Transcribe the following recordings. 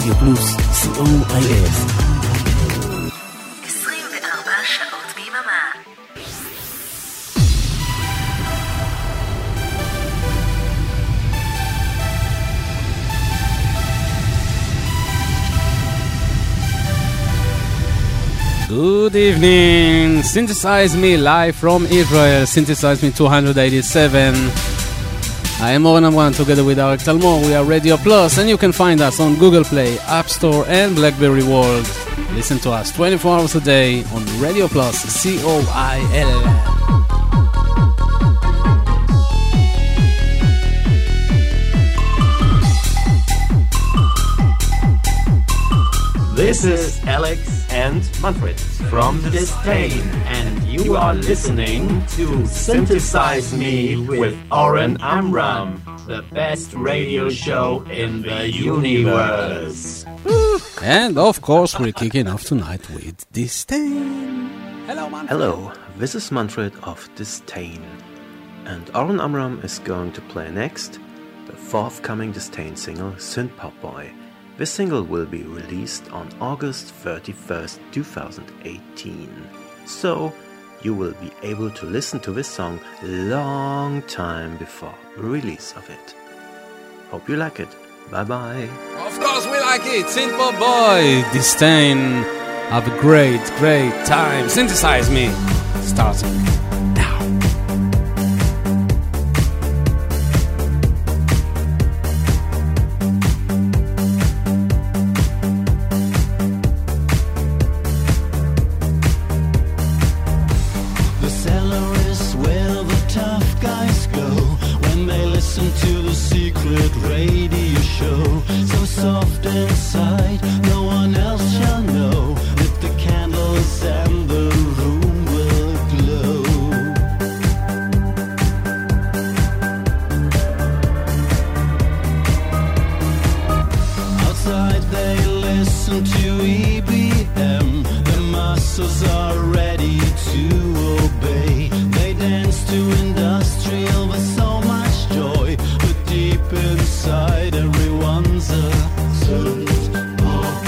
רדיו פלוס, COIL. 24 שעות ביממה. Good evening. Synthesize Me live from Israel. Synthesize Me 287. I am Oren Amran together with Arik Talmor. We are Radio Plus and you can find us on Google Play, App Store and BlackBerry World. Listen to us 24 hours a day on Radio Plus, COIL. This is Alex and Manfred from Disdain, and you are listening to Synthesize Me with Oren Amram, the best radio show in the universe. And of course we're kicking off tonight with Disdain. Hello Manfred. Hello, this is Manfred of Disdain, and Oren Amram is going to play next the forthcoming Disdain single Synth Pop Boy. This single will be released on August 31st, 2018. So, you will be able to listen to this song long time before the release of it. Hope you like it. Bye-bye. Of course we like it. Synth Pop Boy. Disdain. Have a great, great time. Synthesize Me. Starting now. Radio show, so soft inside, no one else shall know. Lit the candles and the room will glow. Outside they listen to EBM, the muscles are ready to obey. They dance to industrial with so much joy. Deep inside everyone's a synth pop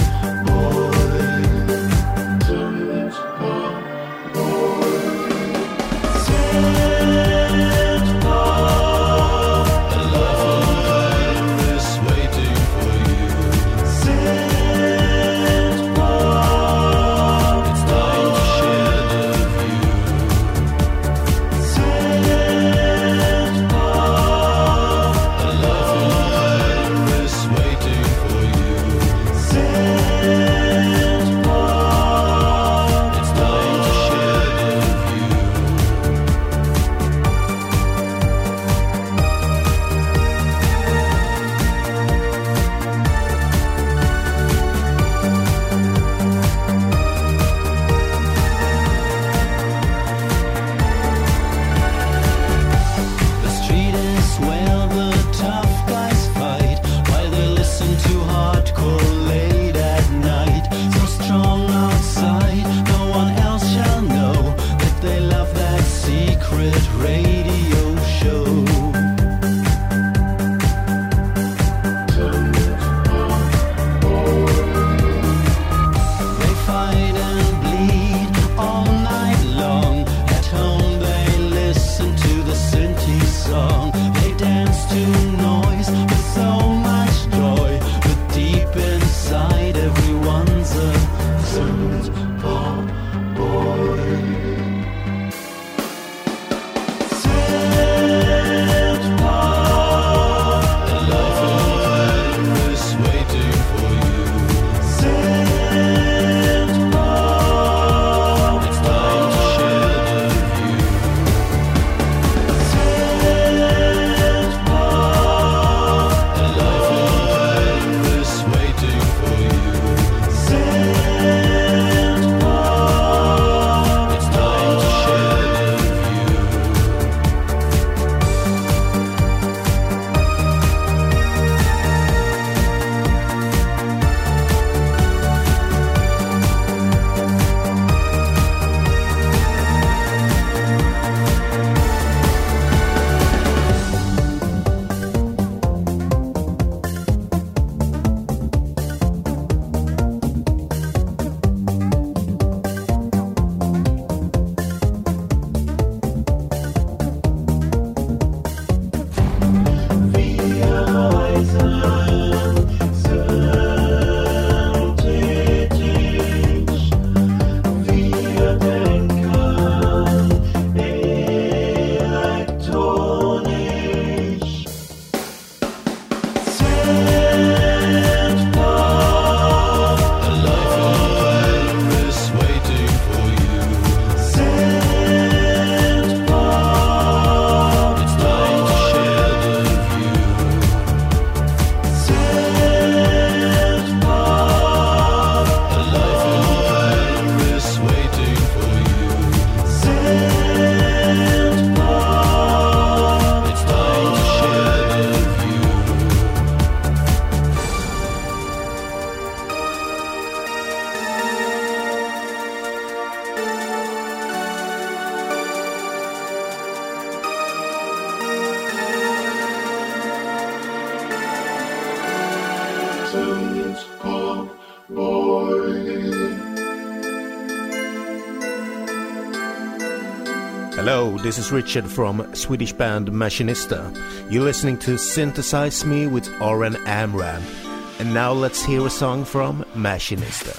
Hello, this is Richard from Swedish band Machinista. You're listening to Synthesize Me with Oren Amram. And now let's hear a song from Machinista.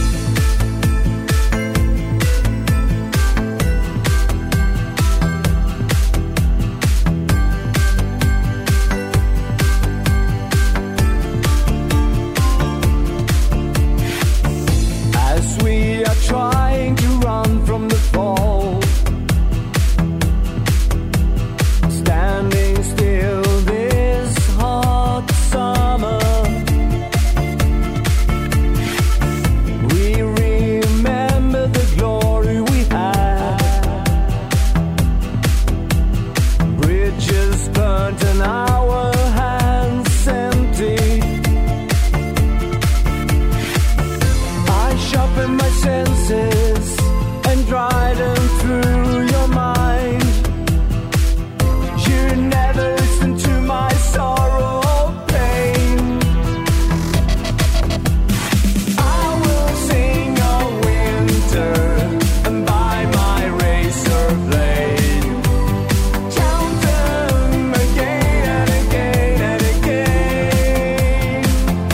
As we are trying to run from the fall, standing still this hot summer, we remember the glory we had. Bridges burnt and our hands empty. I sharpened my senses and dried them through your mind. You never listened to my sorrow or pain. I will sing of winter and by my razor blade count them again and again and again.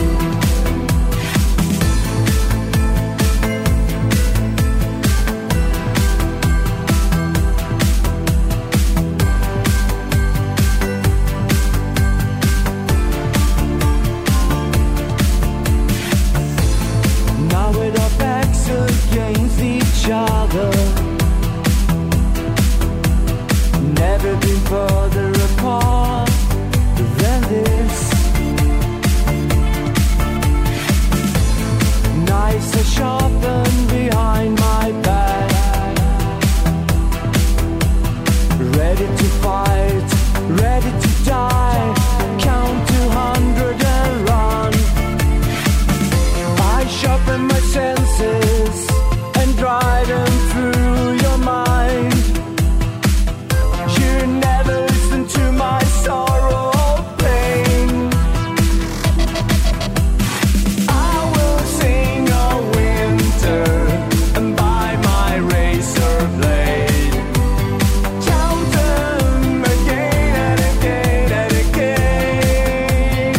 Now with our backs against each other, never been further apart than this. Knives are sharpened behind my back, ready to fight, ready to die. Count 200 and run. I sharpen my senses and drive them through your mind. You never listen to my sorrow or pain. I will sing of winter and by my razor blade count them again and again and again.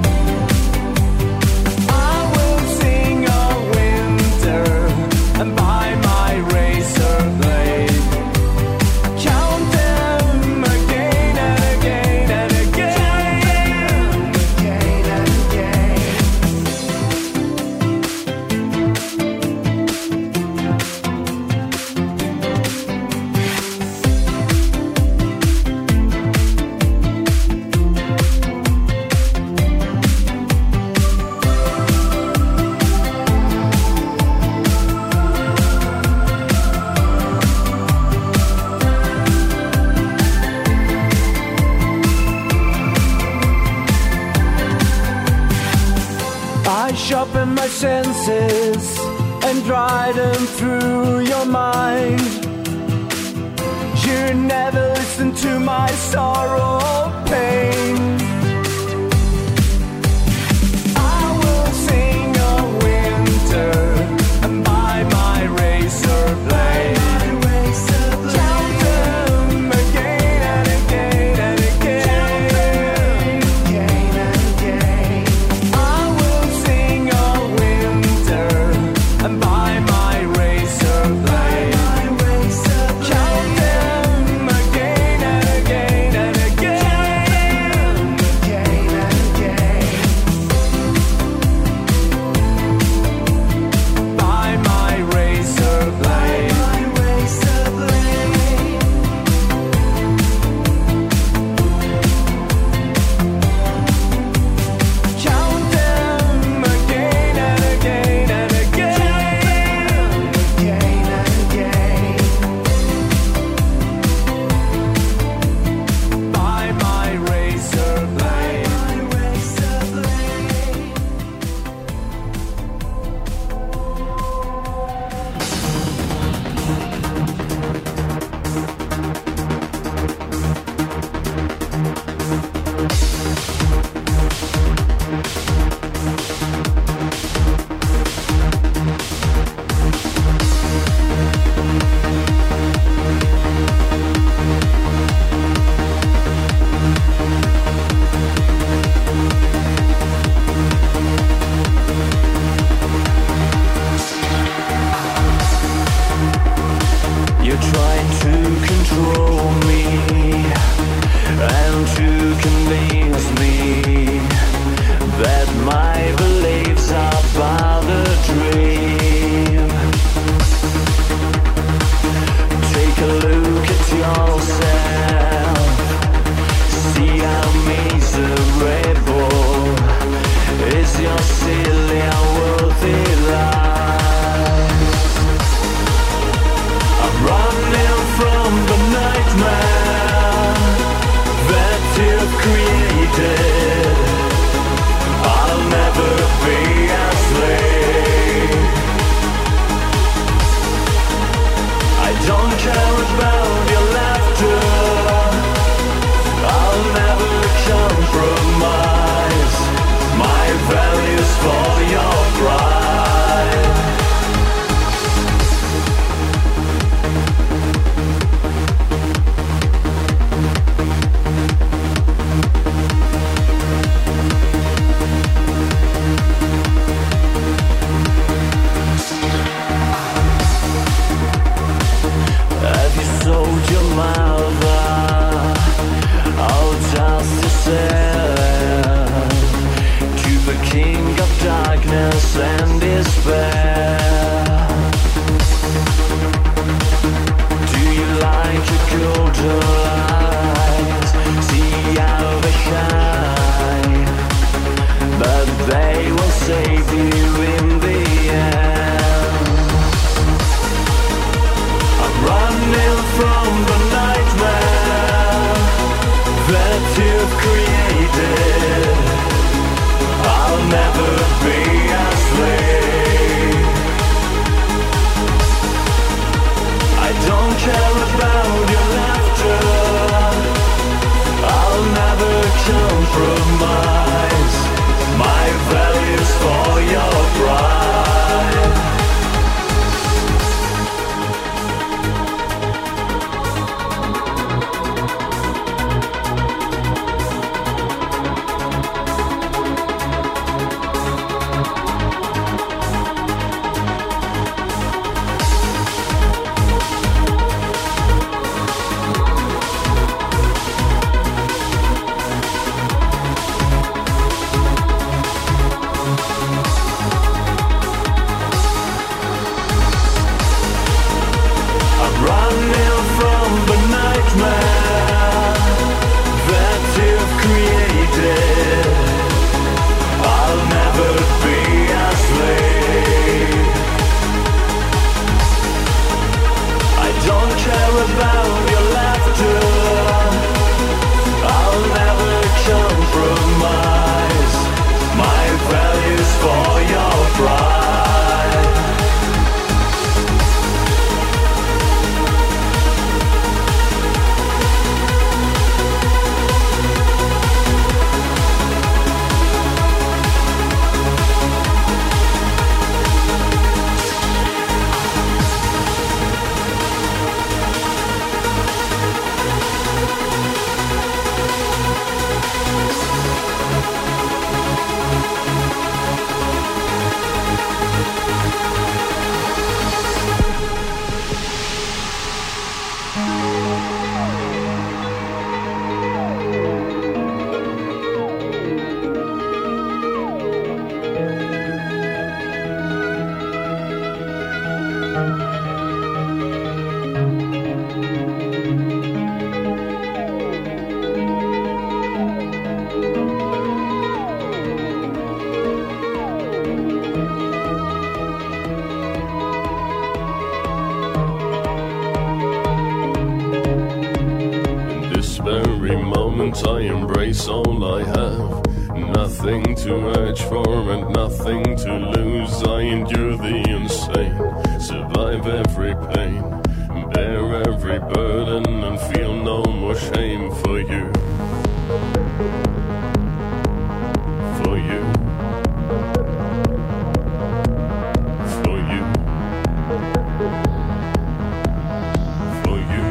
I will sing of winter and by my razor blade count them again and again and again. Again and again. I sharpen my senses and dry them through your mind. You never listen to my sorrow or pain. I will sing of winter and by my razor blade count them again and again and again. Again and again. I will sing of winter and by my razor blade count them again and again and again. every moment I embrace all I have. Nothing to urge for and nothing to lose. I endure the insane, survive every pain, bear every burden and feel no more shame for you. For you. For you. For you.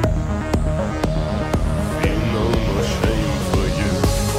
Feel no more shame for you.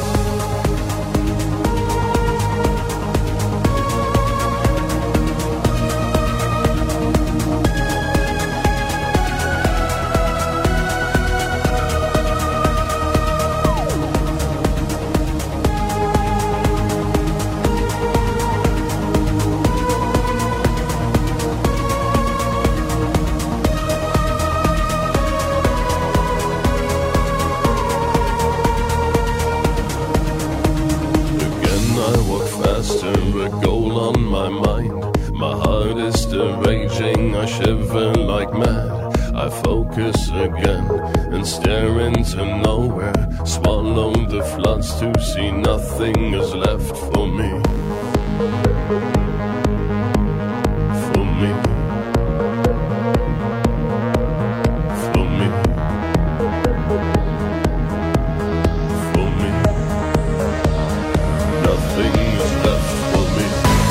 A goal on my mind. My heart is still raging, I shiver like mad. I focus again and stare into nowhere. Swallow the floods to see nothing is left for me. For me. For me. For me. Nothing is left for me.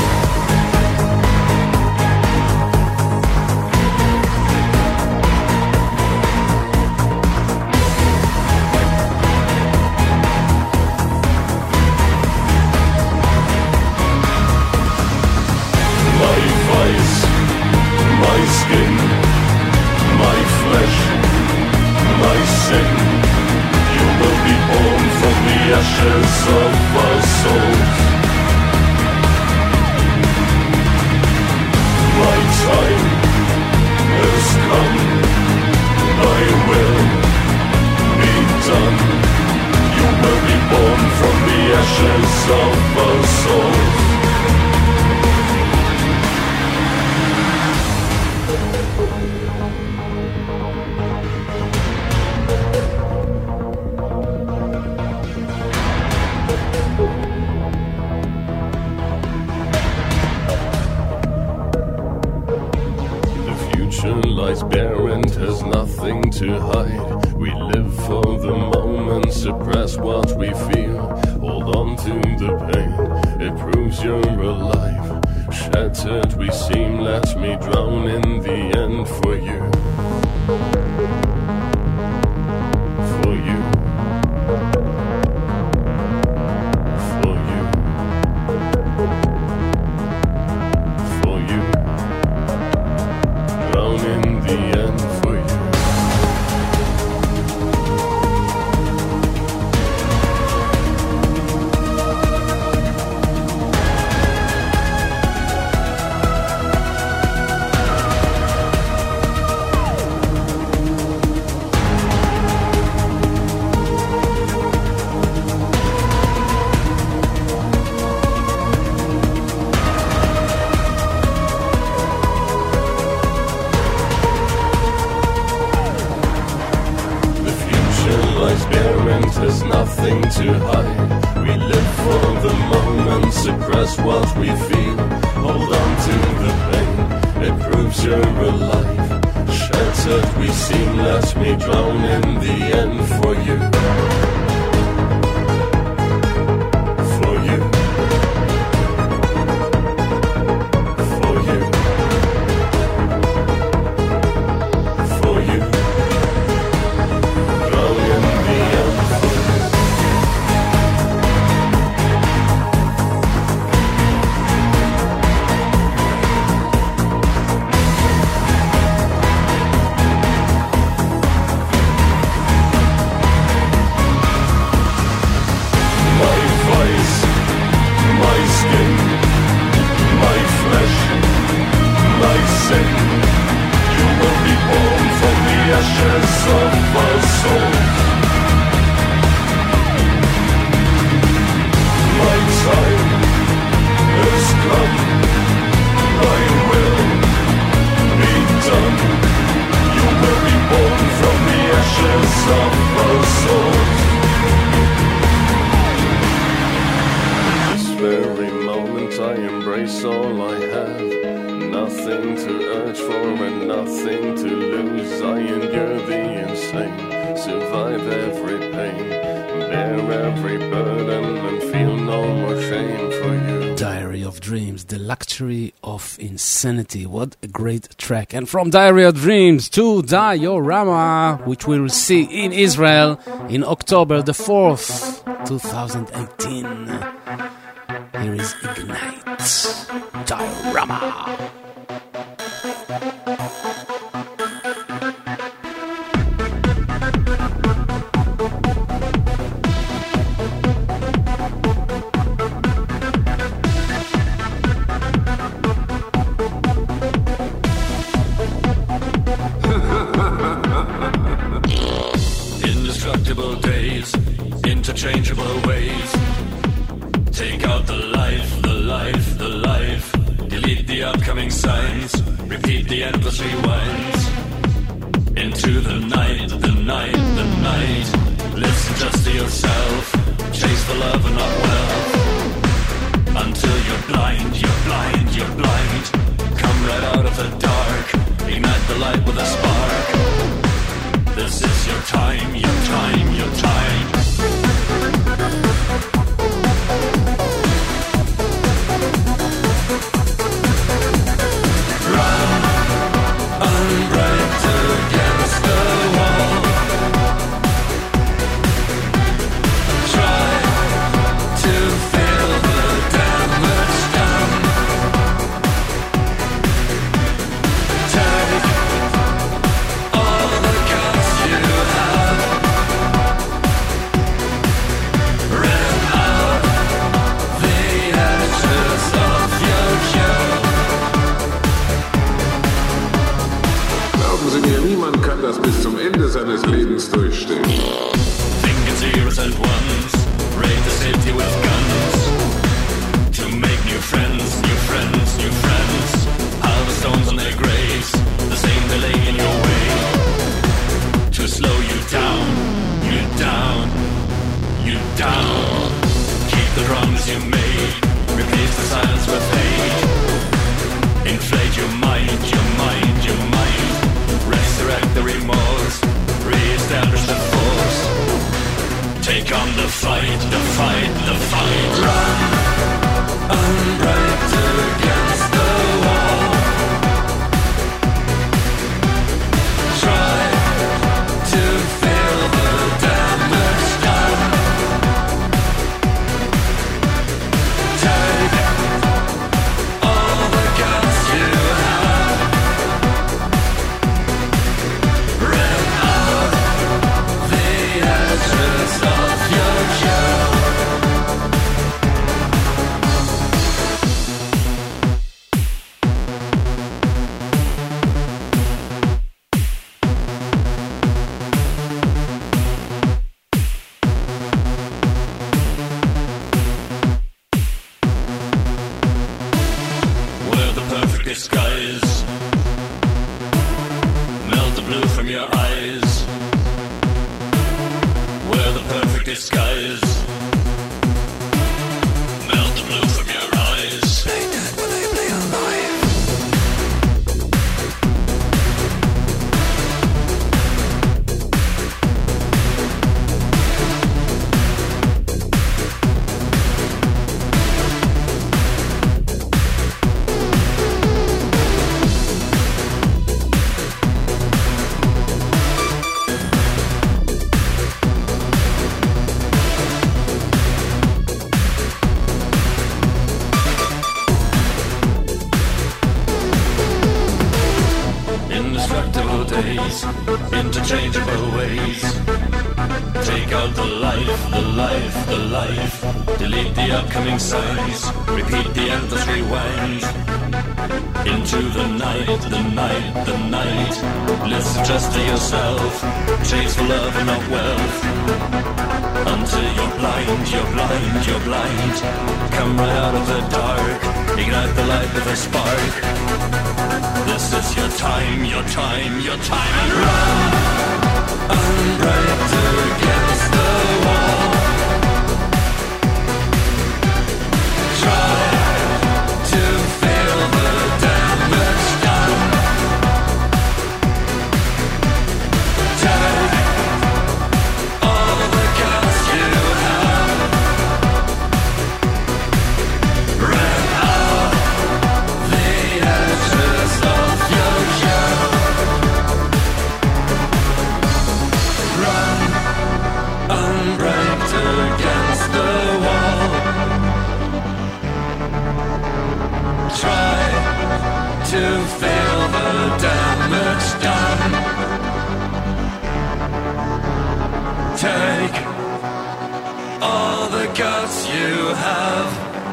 My vice, my skin, my flesh, my sin. You will be born from the ashes of our souls. My time has come, thy will be done. You will be born from the ashes of our souls. Lies bare and has nothing to hide. We live for the moment, suppress what we feel. Hold on to the pain, it proves you're alive. Shattered we seem, let me drown in the end for you. For you. For you. For you. Drown in the end for you. There's nothing to hide. We live for the moment, suppress what we feel. Hold on to the pain, it proves you're alive. Shattered we seem, let me drown in the end for you. For you. For you. For you. Drown in the end. embrace all I have. Nothing to urge for and nothing to lose. I endure the insane, survive every pain, bear every burden and feel no more shame for you. Diary of Dreams, The Luxury of Insanity. What a great track. And from Diary of Dreams to Diorama, which we'll see in Israel in October the 4th, 2018. Here is Ignite. Diorama. Indestructible days, interchangeable ways. Take out the life, the life, the life. Delete the upcoming signs. Repeat the endless rewinds. Into the night, the night, the night. Listen just to yourself. Chase the love and not wealth. Until you're blind, you're blind, you're blind. Come right out of the dark. Ignite the light with a spark. This is your time, your time, your time. Run, unbreak against the wall. Try to feel the damage done. Take all the guts you have. Rip out the edges of your jaw. Glauben Sie mir, niemand kann das bis zum Ende seines Lebens durchstehen. Thinking zeros and ones, raid the city with guns. To make new friends, new friends, new friends. Pile the stones on their graves, the same they lay in your way. To slow you down, you down, you down. Keep the wrongs you made, replace the silence with hate. Inflate your mind, your mind, your mind. Resurrect the remorse, re-establish the force. Take on the fight, the fight, the fight. Run, unbreak against the wall. Try to feel the damage done. Take all the guts you have. Rip out the edges of your jaw. Wear the perfect disguise. Melt the blue from your eyes. Wear the perfect disguise. Melt the blue from your eyes. Play dead when they play alive. Indestructible days, interchangeable ways. Take out the life, the life, the life. Delete the upcoming signs. Repeat the endless rewind. Into the night, the night, the night. Listen just to yourself. Chase for love and not wealth. Until you're blind, you're blind, you're blind. Come right out of the dark. Ignite the light with a spark. This is your time, your time, your time. And run, unbreak against the wall. Try to feel the damage done. Take all the guts you have,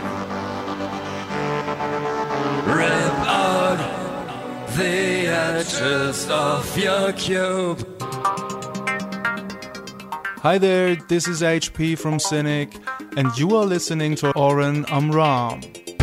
rip out the edges of your cube. Hi there, this is HP from Cynic, and you are listening to Oren Amram.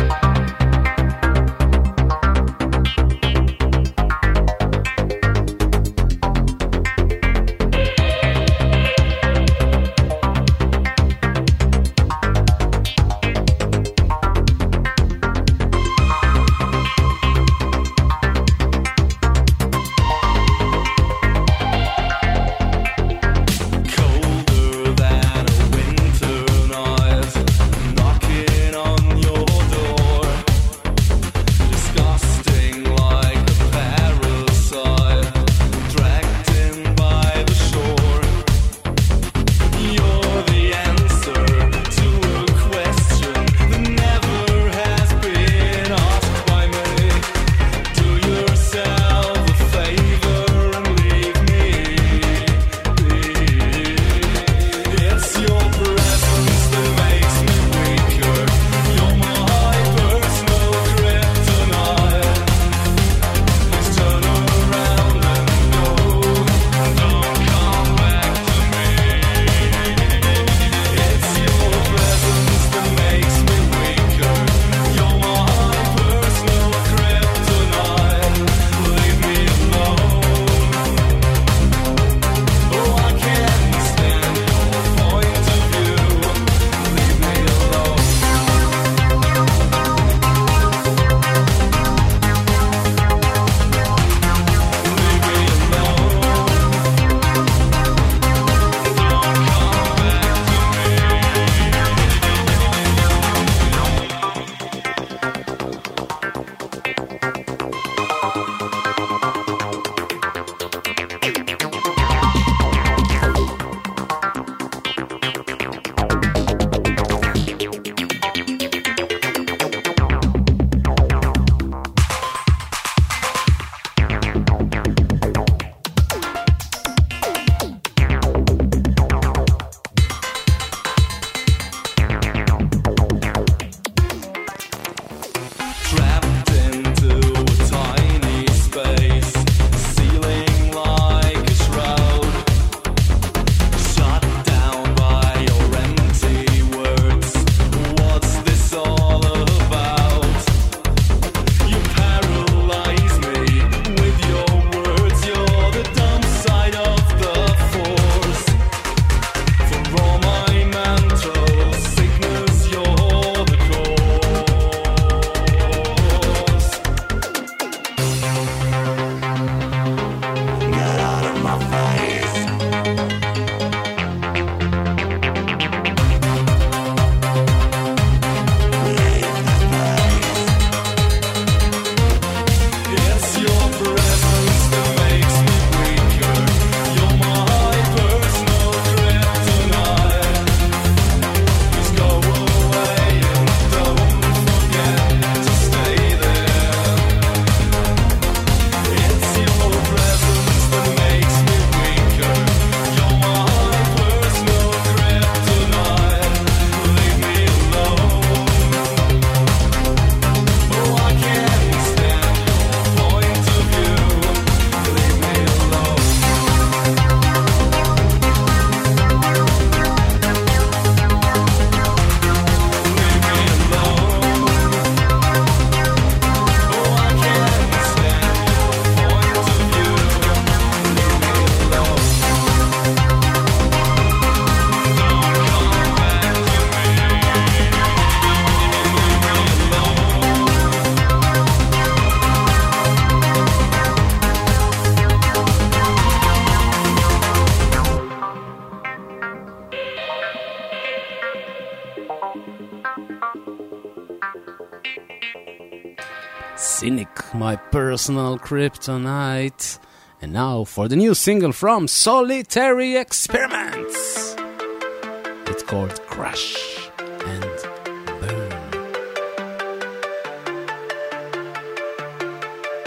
Cynic, my personal kryptonite. And now for the new single from Solitary Experiments. It's called Crash and Burn.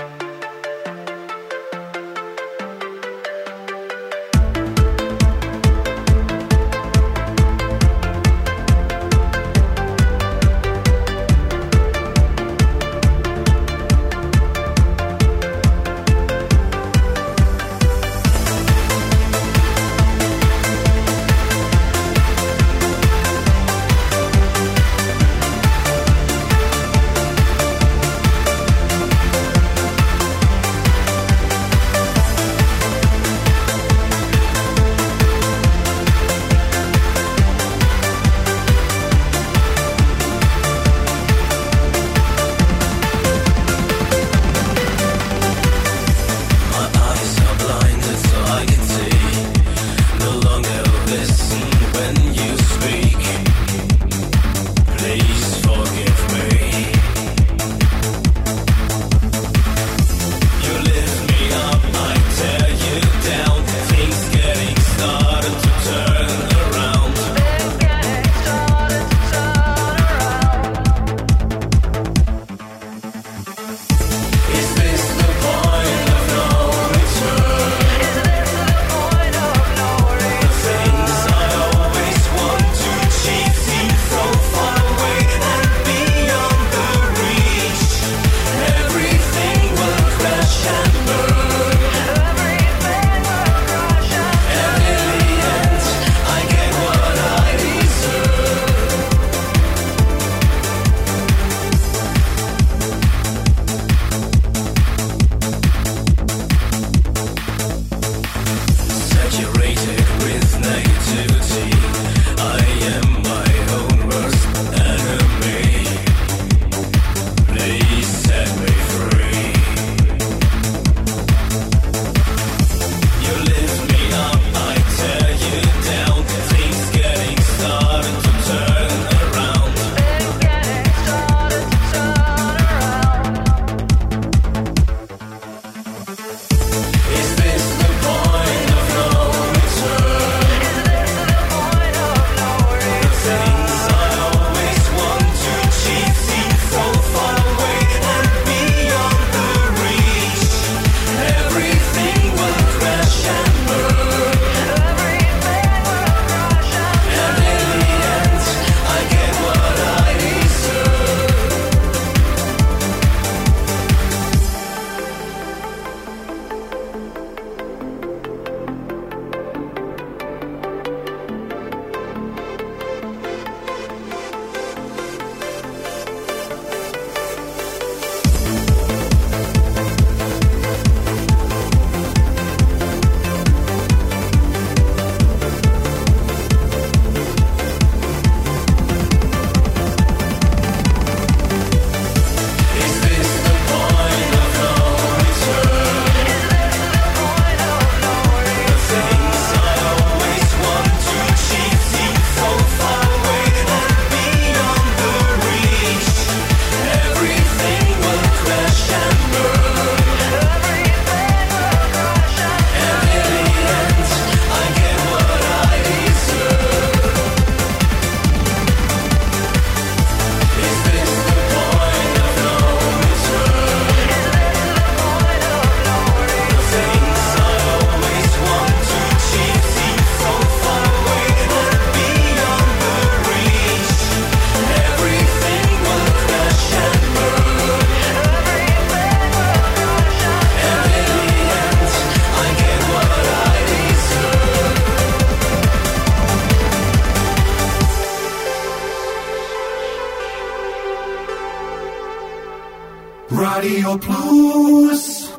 Radio Plus.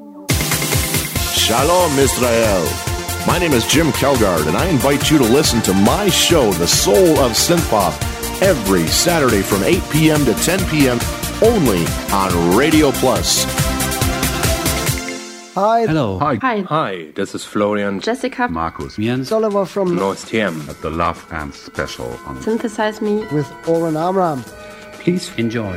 Shalom, Israel. My name is Jim Kelgard, and I invite you to listen to my show, The Soul of Synthpop, every Saturday from 8 p.m. to 10 p.m. only on Radio Plus. Hi. Hello. Hi. Hi, this is Florian. Jessica. Markus. Jens. Oliver from North TM at the Love Camp special on Synthesize Me with Oren Amram. Please enjoy.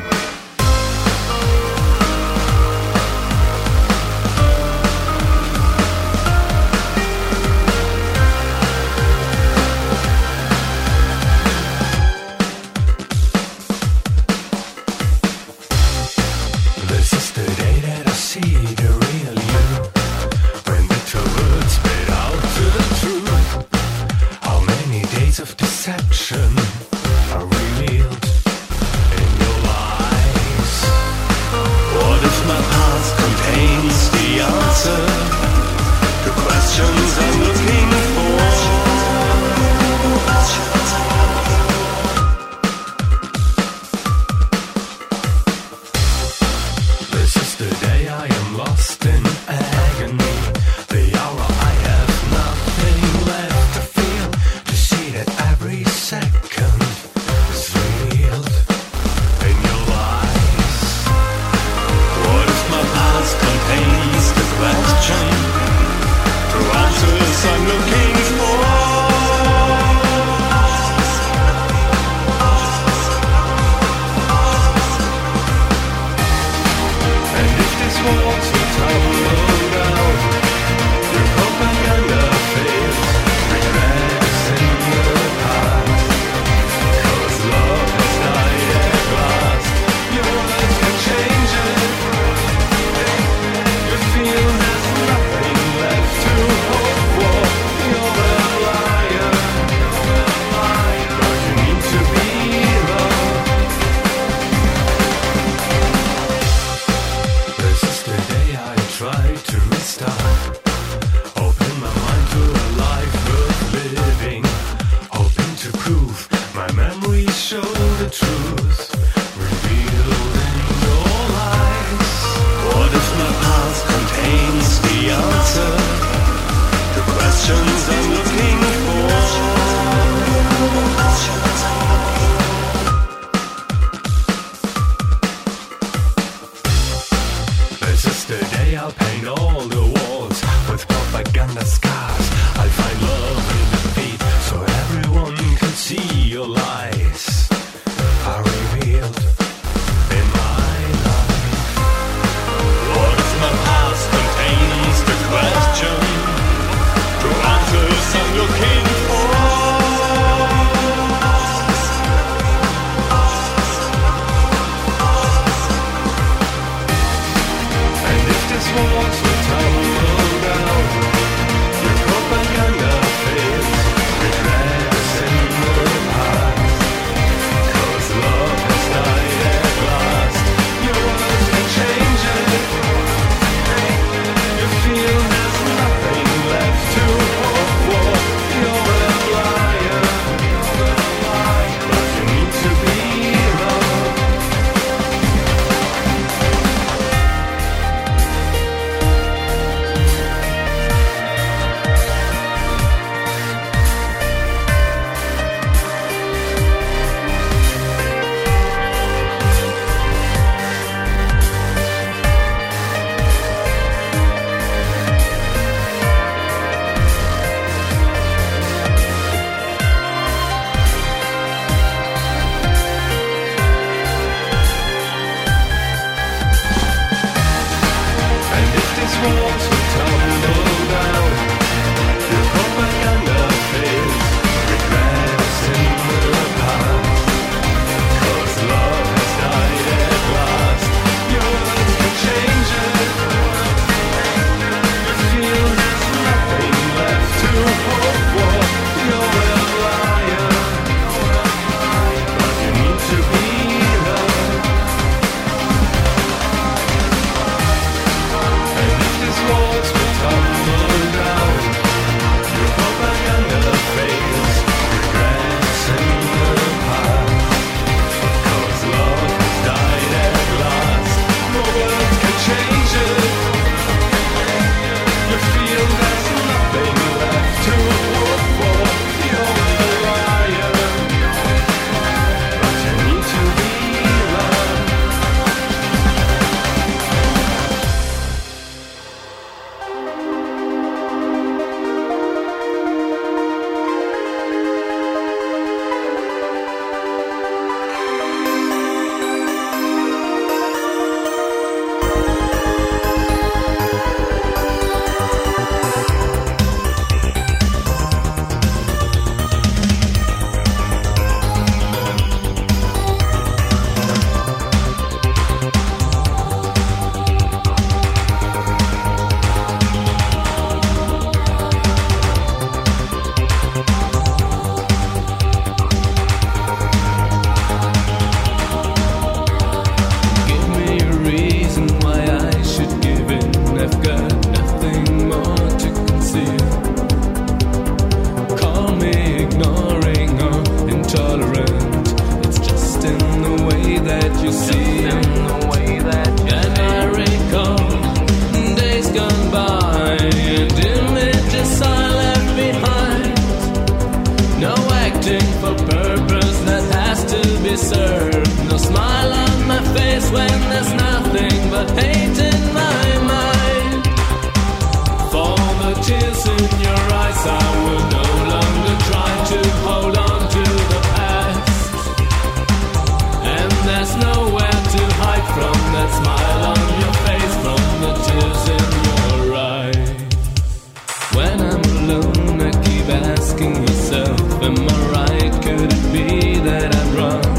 living for purpose that has to be served. No smile on my face when there's nothing but hate in my mind. For the tears in your eyes, I will no longer try to hold on to the past. And there's nowhere to hide from that smile on your face, from the tears in your eyes. When I'm alone, I keep asking myself, am I right? Could it be that I'm wrong?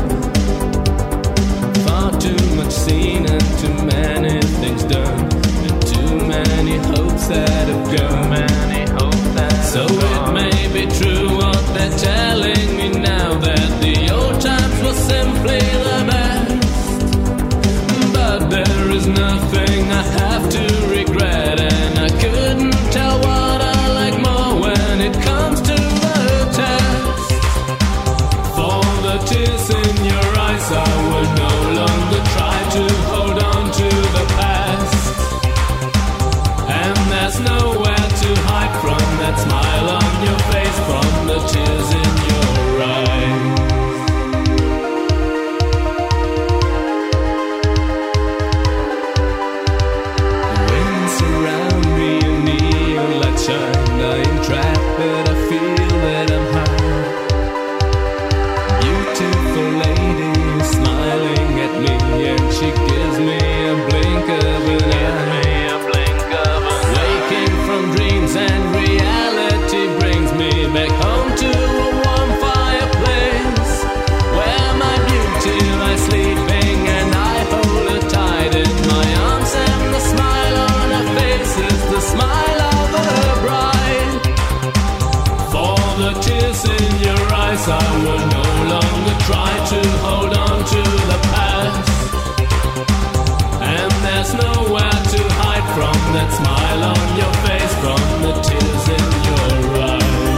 Far too much seen and too many things done, and too many hopes that have gone. So it may be true what they're telling me now, that the old times were simply the best. But there is nothing I have to regret, and I couldn't tell what I like more when it comes to the test. For the tears in your eyes, I will no longer try to hold on to the past. And there's nowhere to hide from that smile on your face, from the tears in your eyes. Around me a neon light shine. I am trapped but I feel that I'm high. Beautiful lady is smiling at me, and she gives me a blink of an eye. Waking from dreams and reality brings me back home to a warm fireplace, where my beauty lies sleeping and I hold her tight in my arms, and the smile on her face is the smile of a bride. For the tears in your eyes, I will no longer try to hold on to the past. And there's nowhere to hide from that smile on your face, from the tears in your eyes.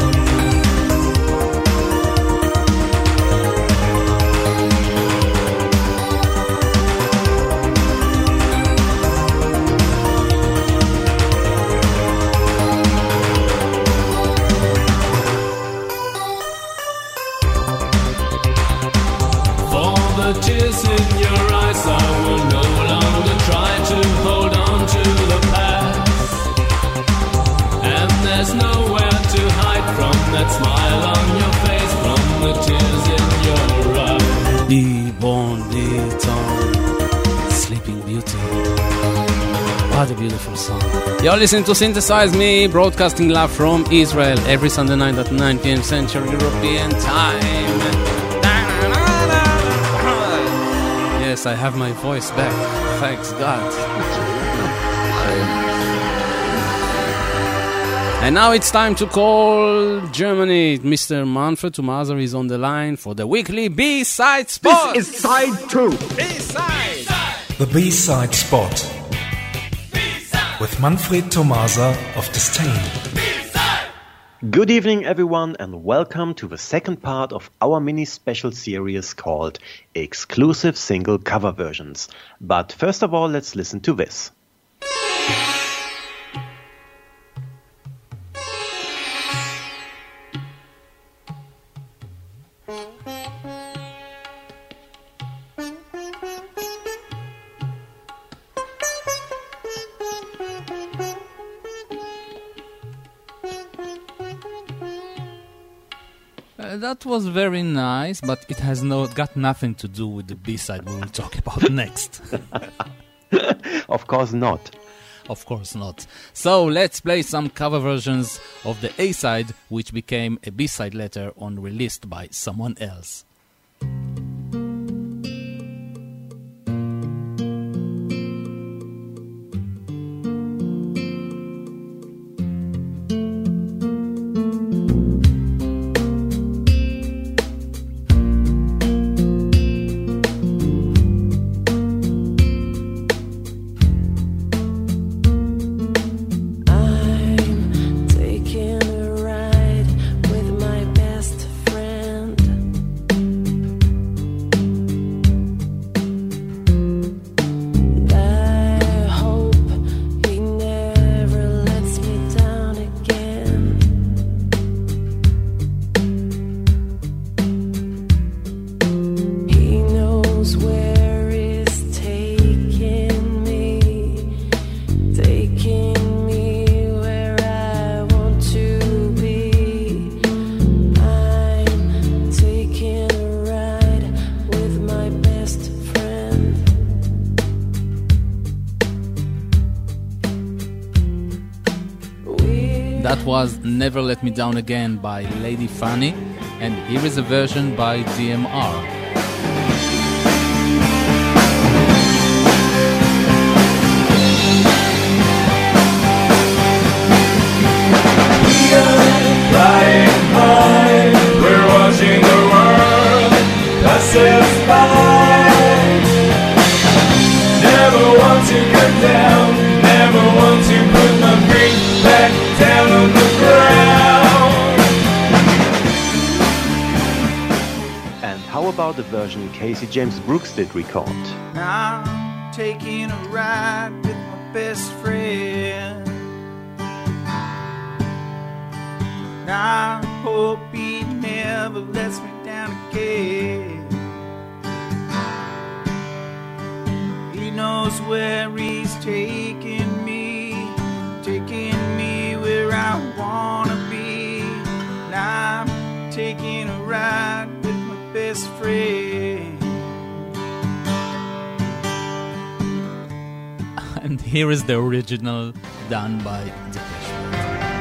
The tears in your eyes, I will no longer try to hold on to the past. And there's nowhere to hide from that smile on your face, from the tears in your eyes. Be born, be torn, Sleeping Beauty. What a beautiful song. You're listening to Synthesize Me, broadcasting live from Israel every Sunday night at 9 p.m. Central European Time. Yes, I have my voice back. Thanks God. And now it's time to call Germany. Mr. Manfred Tomaser is on the line for the weekly B-side spot. This is side 2. B-side. The B-side spot. B-side. With Manfred Tomaser of Disdain. Good evening everyone, and welcome to the second part of our mini special series called Exclusive Single Cover Versions. But first of all, let's listen to this. That was very nice, but it has got nothing to do with the B-side we will talk about next. Of course not. Of course not. So let's play some cover versions of the A-side, which became a B-side later on, released by someone else. Taking a ride with my best friend. was Never Let Me Down Again by Lady Fanny, and here is a version by DMR. Flying high, we're watching the world pass us by. Never want to come down, never want to put my feet back down on the ground. And how about the version Casey James Brooks did record? I'm taking a ride with my best friend. I hope he never lets me down again. He knows where he's taking me where I wanna be. And I'm taking a ride with my best friend. And here is the original done by Depeche Mode.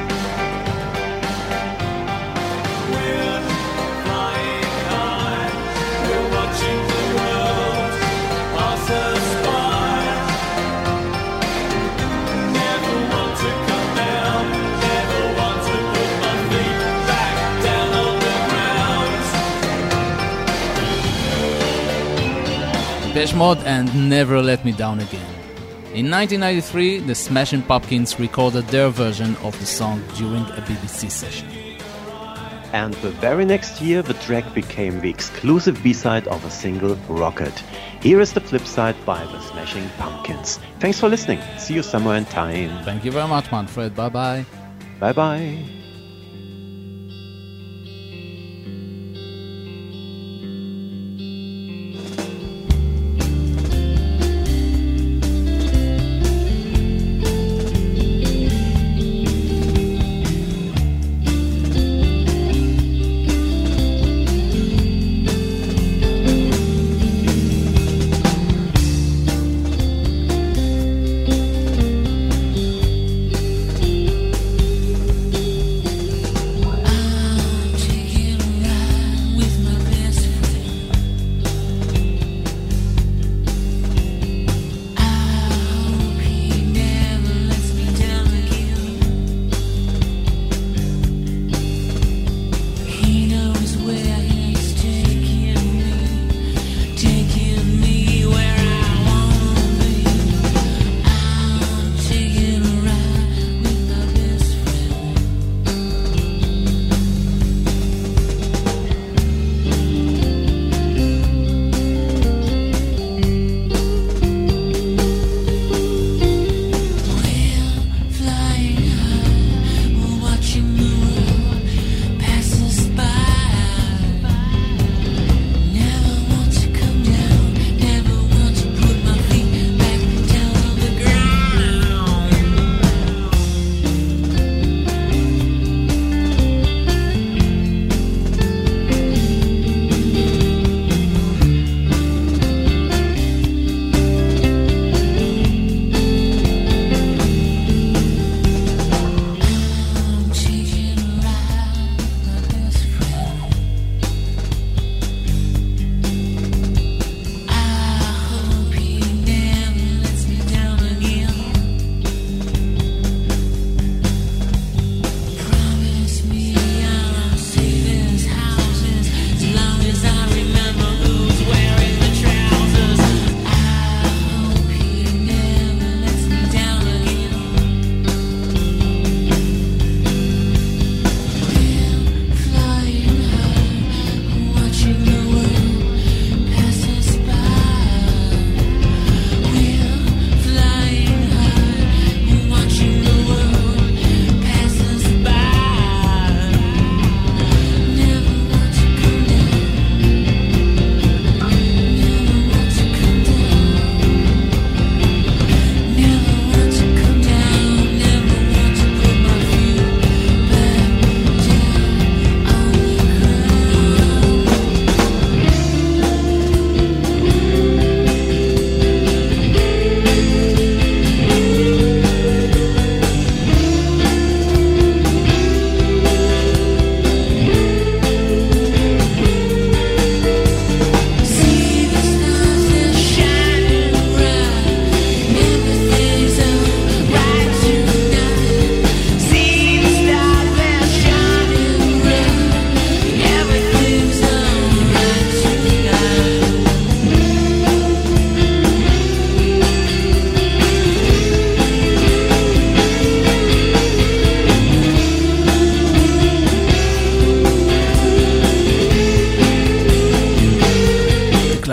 Depeche Mode and Never Let Me Down Again. In 1993, the Smashing Pumpkins recorded their version of the song during a BBC session. And the very next year, the track became the exclusive B-side of a single, Rocket. Here is the flip side by the Smashing Pumpkins. Thanks for listening. See you somewhere in time. Thank you very much, Manfred. Bye-bye. Bye-bye.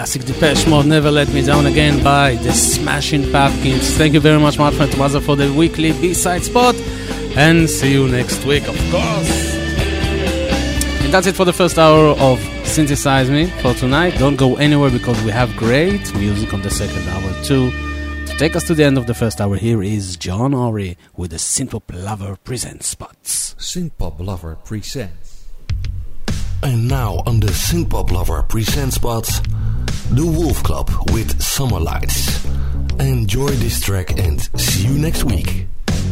classic Depeche Mode, Never Let Me Down Again by the Smashing Pumpkins. Thank you very much, my friend Tomaza, for the weekly B-side spot, and see you next week, of course. And that's it for the first hour of Synthesize Me for tonight. Don't go anywhere because we have great music on the second hour too. To take us to the end of the first hour, here is John Ory with the Synthpop Lover Presents spots. Synthpop Lover Presents. And now on the Synthpop Lover Presents spots, The Wolf Club with Summer Lights. Enjoy this track and see you next week.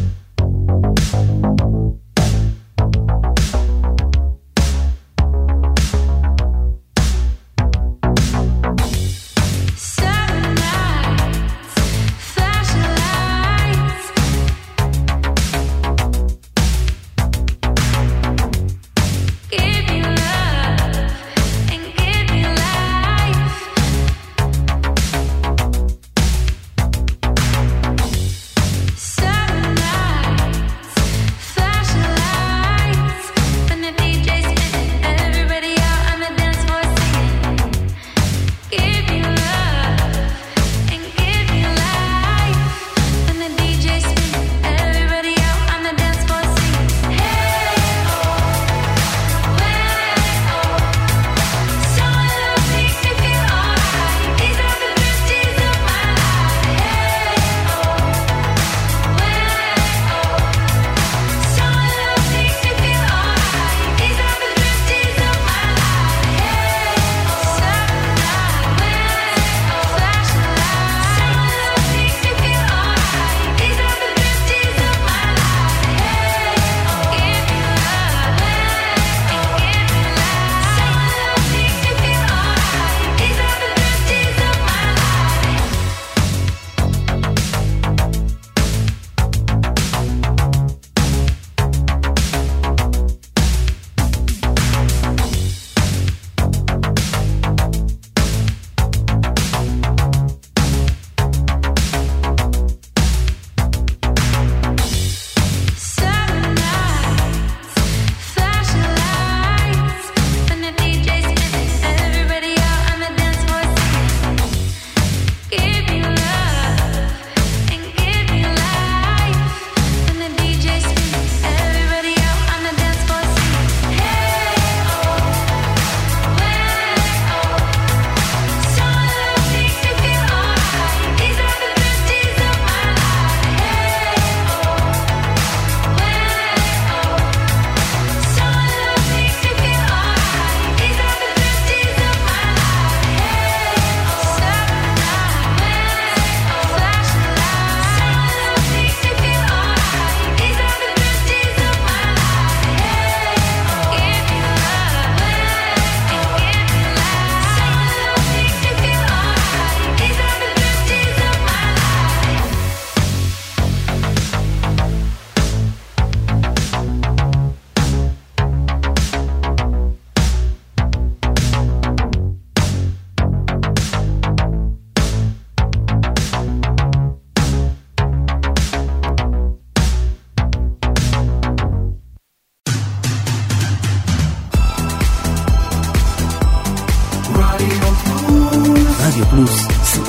רדיו פלוס,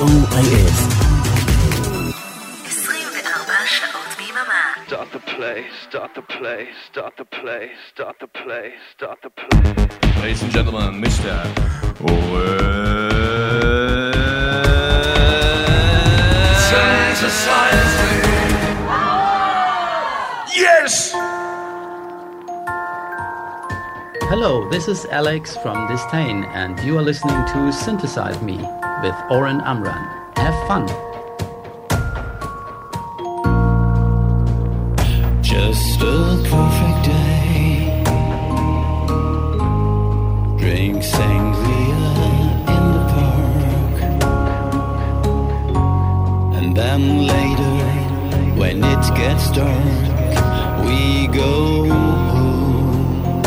COIF. 24 שעות ביממה. Start the play, start the play, start the play, start the play, start the play. Ladies and gentlemen, Mr. Synthesize me. Yes! Hello, this is Alex from Disdain, and you are listening to Synthesize Me with Oren Amram. Have fun! Just a perfect day. Drink sangria in the park. And then later, when it gets dark, we go home.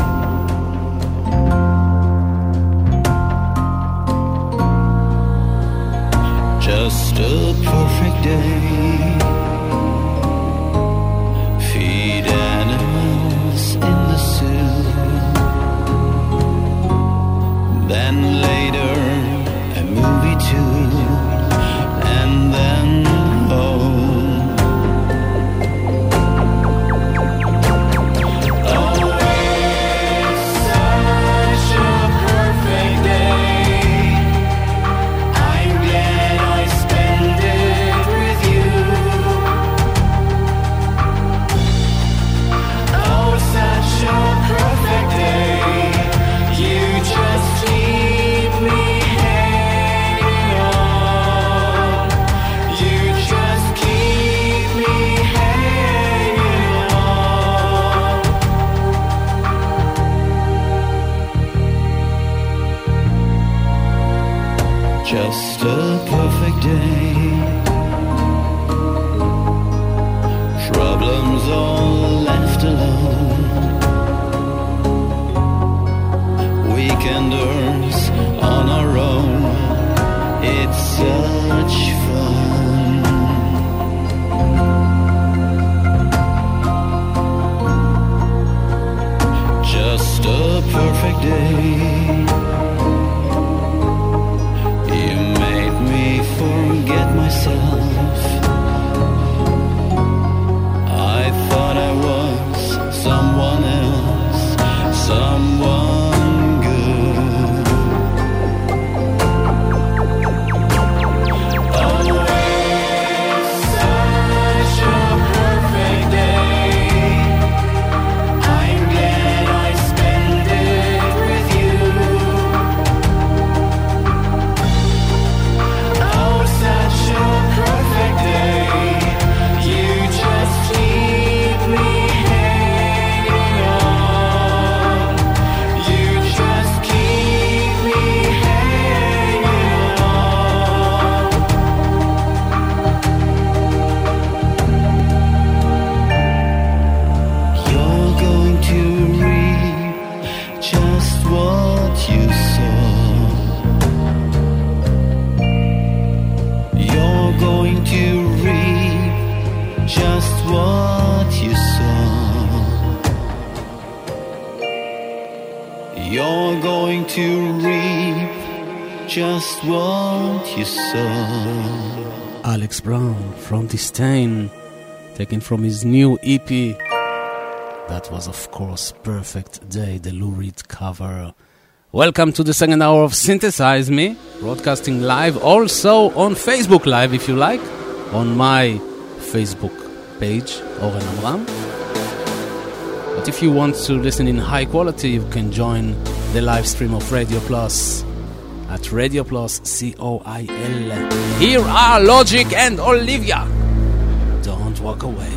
Just a perfect day. Feed animals in the zoo. Then later, a movie too, and then home. Oh, it's such a perfect day. I'm glad I spent it with you. Oh, such a perfect day. You just keep me hanging on. You just keep me hanging on. Just a perfect day. Problems all left alone. Weekenders on our own. It's such fun. Just a perfect day. You made me forget myself. I thought I was someone else, someone good. Oh, it's such a perfect day. I'm glad I spent it with you. Oh, such a perfect day. You just keep me hanging on. You just keep me hanging on. You're going to reap just what you sow. You're going to reap just what you sow. You're going to reap just what you sow. Alex Brown from Disdain, taken from his new EP. That was, of course, Perfect Day, the Lou Reed cover. Welcome to the second hour of Synthesize Me, broadcasting live also on Facebook Live, if you like, on my Facebook page, Oren Amram. But if you want to listen in high quality, you can join the live stream of Radio Plus at Radio Plus COIL. Here are Logic and Olivia. Don't walk away.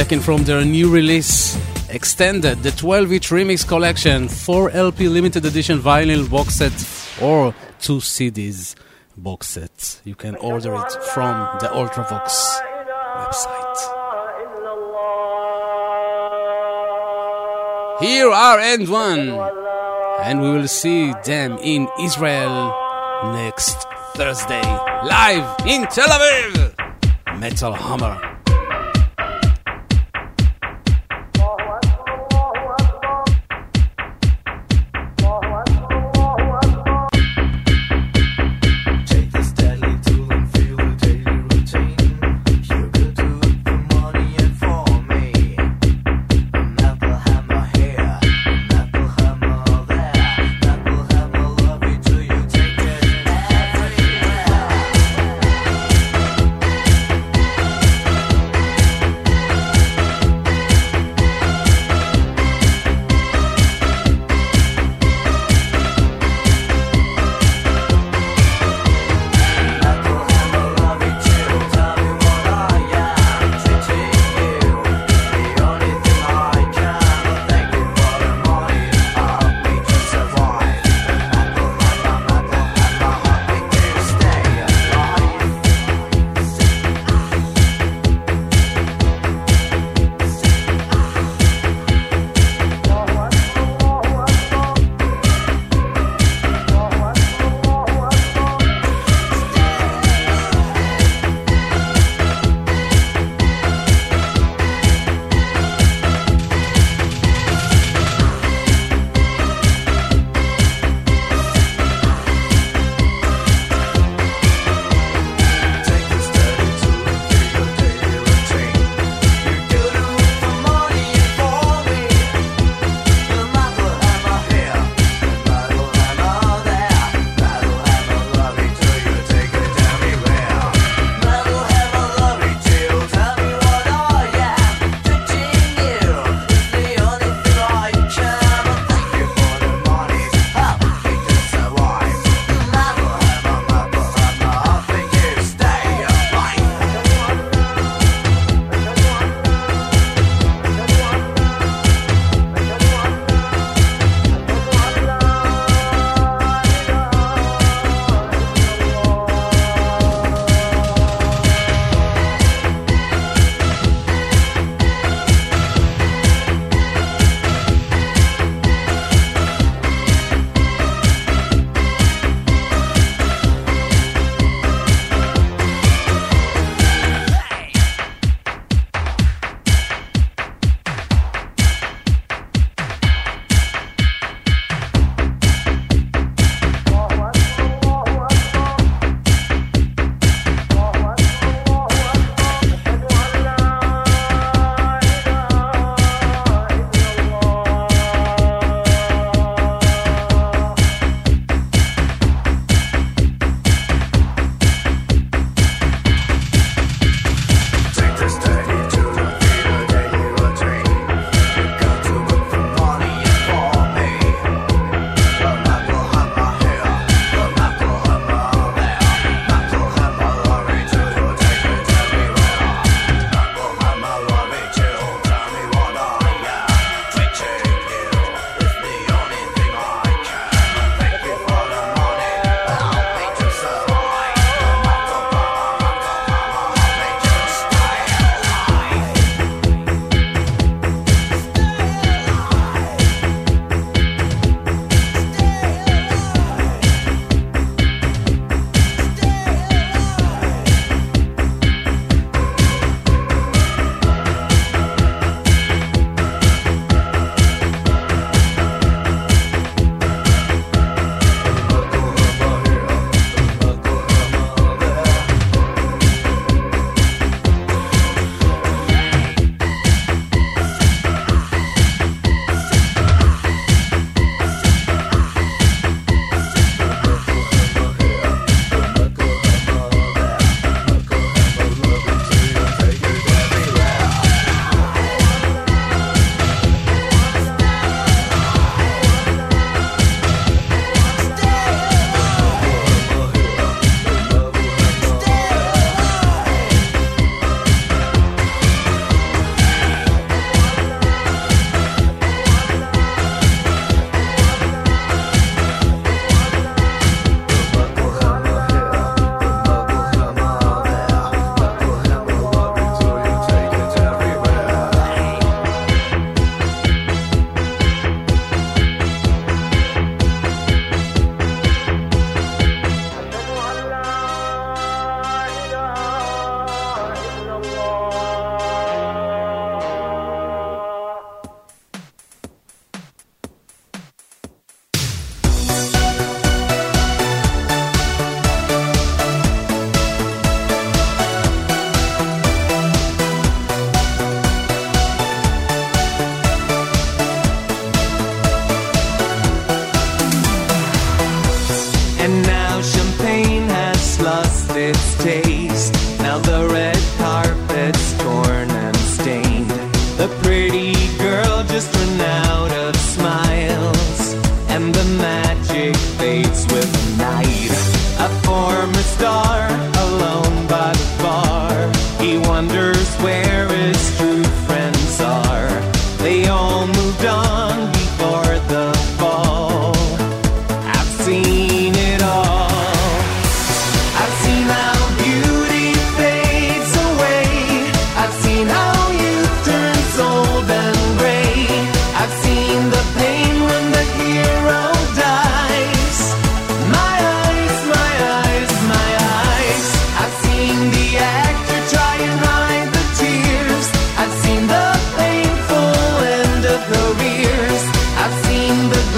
taken from their new release, Extended, the 12-inch remix collection, 4 LP limited edition vinyl box set, or 2 CDs box set. You can order it from the Ultravox website. Here are End One, and we will see them in Israel next Thursday, live in Tel Aviv. Metal Hammer.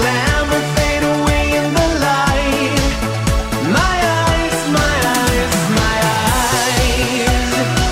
glamour fade away in the light. My eyes, my eyes, my eyes.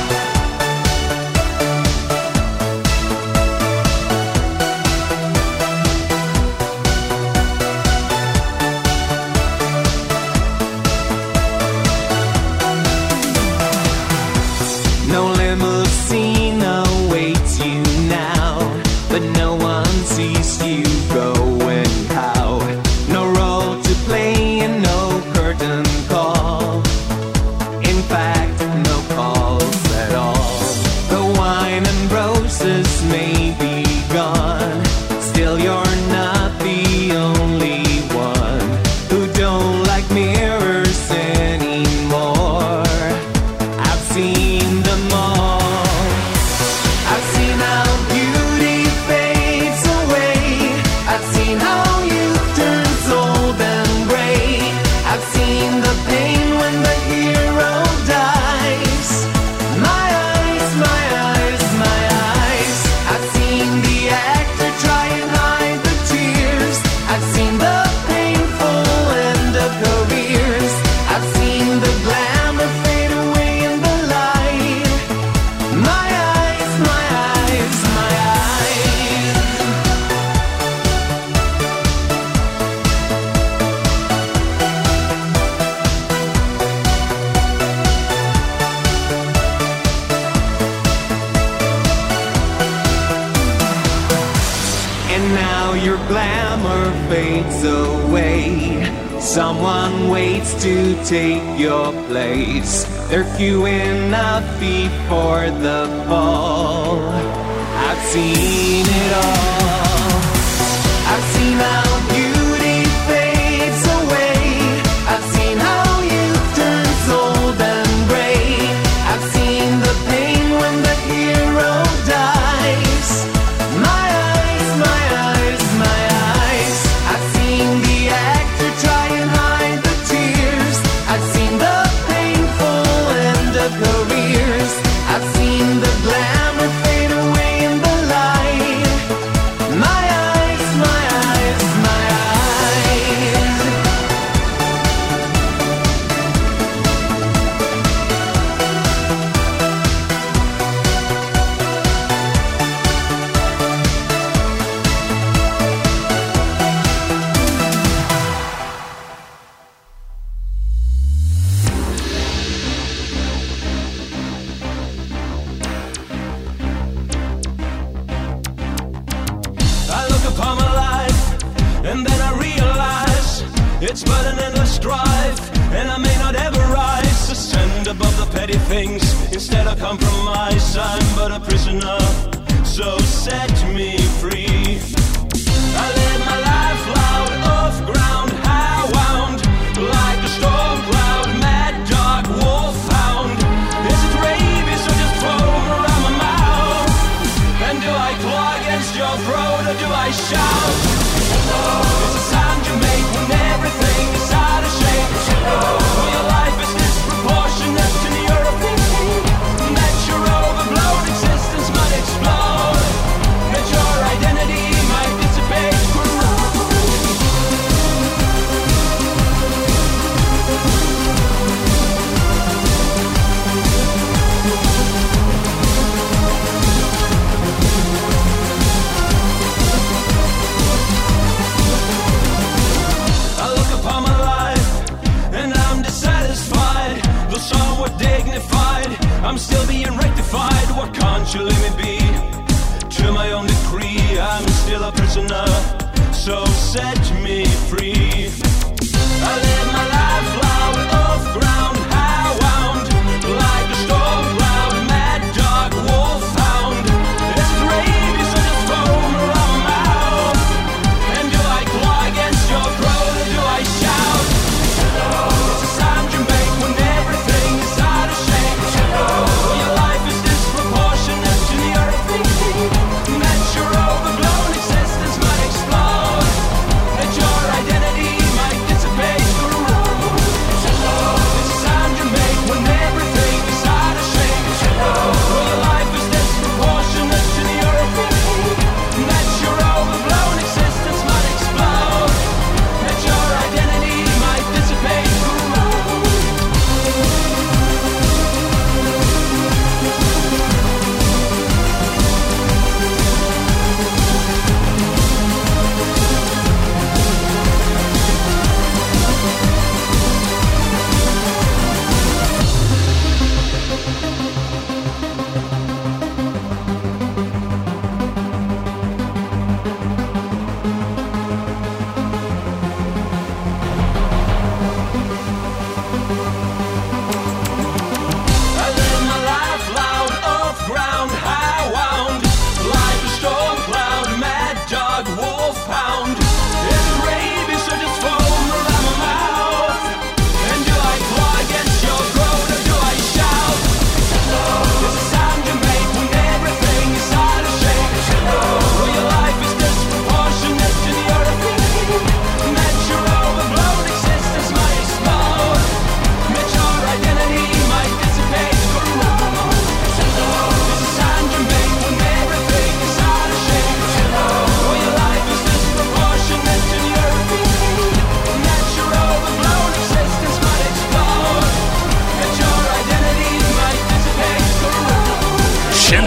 No limousine awaits you now, but no one sees you going how. No role to play and no curtain call. In fact, no calls at all. The wine and roses may be gone, still you're not the only one who don't like mirrors anymore. I've seen them all. I've seen how beauty fades away. I've seen how youth turns old and gray. I've seen the pain when the hero dies. My eyes, my eyes, my eyes. I've seen the actor try and hide the tears. I've seen the painful end of careers. I've seen the glamour fade away in the light. My eyes, my eyes, my eyes. And now your glamour fades away. Someone waits to take your place. They're queuing up before the ball. I've seen it all. I've seen how beauty fades away. I've seen how youth turns old and gray. I've seen the pain when the hero dies. My eyes, my eyes, my eyes. I've seen the actor try and hide the tears. I've seen the painful end of careers. I've seen the glamour fade away in the light. My eyes, my eyes, my eyes. I look upon my life, and then I realize it's but an endless strife, and I may not ever rise, ascend above the petty things. Instead I compromise, I'm but a prisoner, so set me free. I live my life loud, off ground, high wound, like a storm cloud, mad dog, wolfhound. Is it rabies or just foam around my mouth? And do I claw against your throat or do I shout? It's a sound you make when everything is out of shape. When your life is disproportionate to the earth, that your overblown existence might explode, that your identity might dissipate. I look upon my life and I'm dissatisfied, though somewhat dignified. I'm still being rectified. What can't you let me be? To my own decree, I'm still a prisoner, so set me free. I live my life loud, off ground, high wound, like a storm cloud, mad dog, wolfhound. Is it rabies or just foam around my mouth? And do I claw against your throat or do I shout? It's a sound you make when everything is out of shape. When your life is disproportionate to the earth, that your overblown existence might explode, that your identity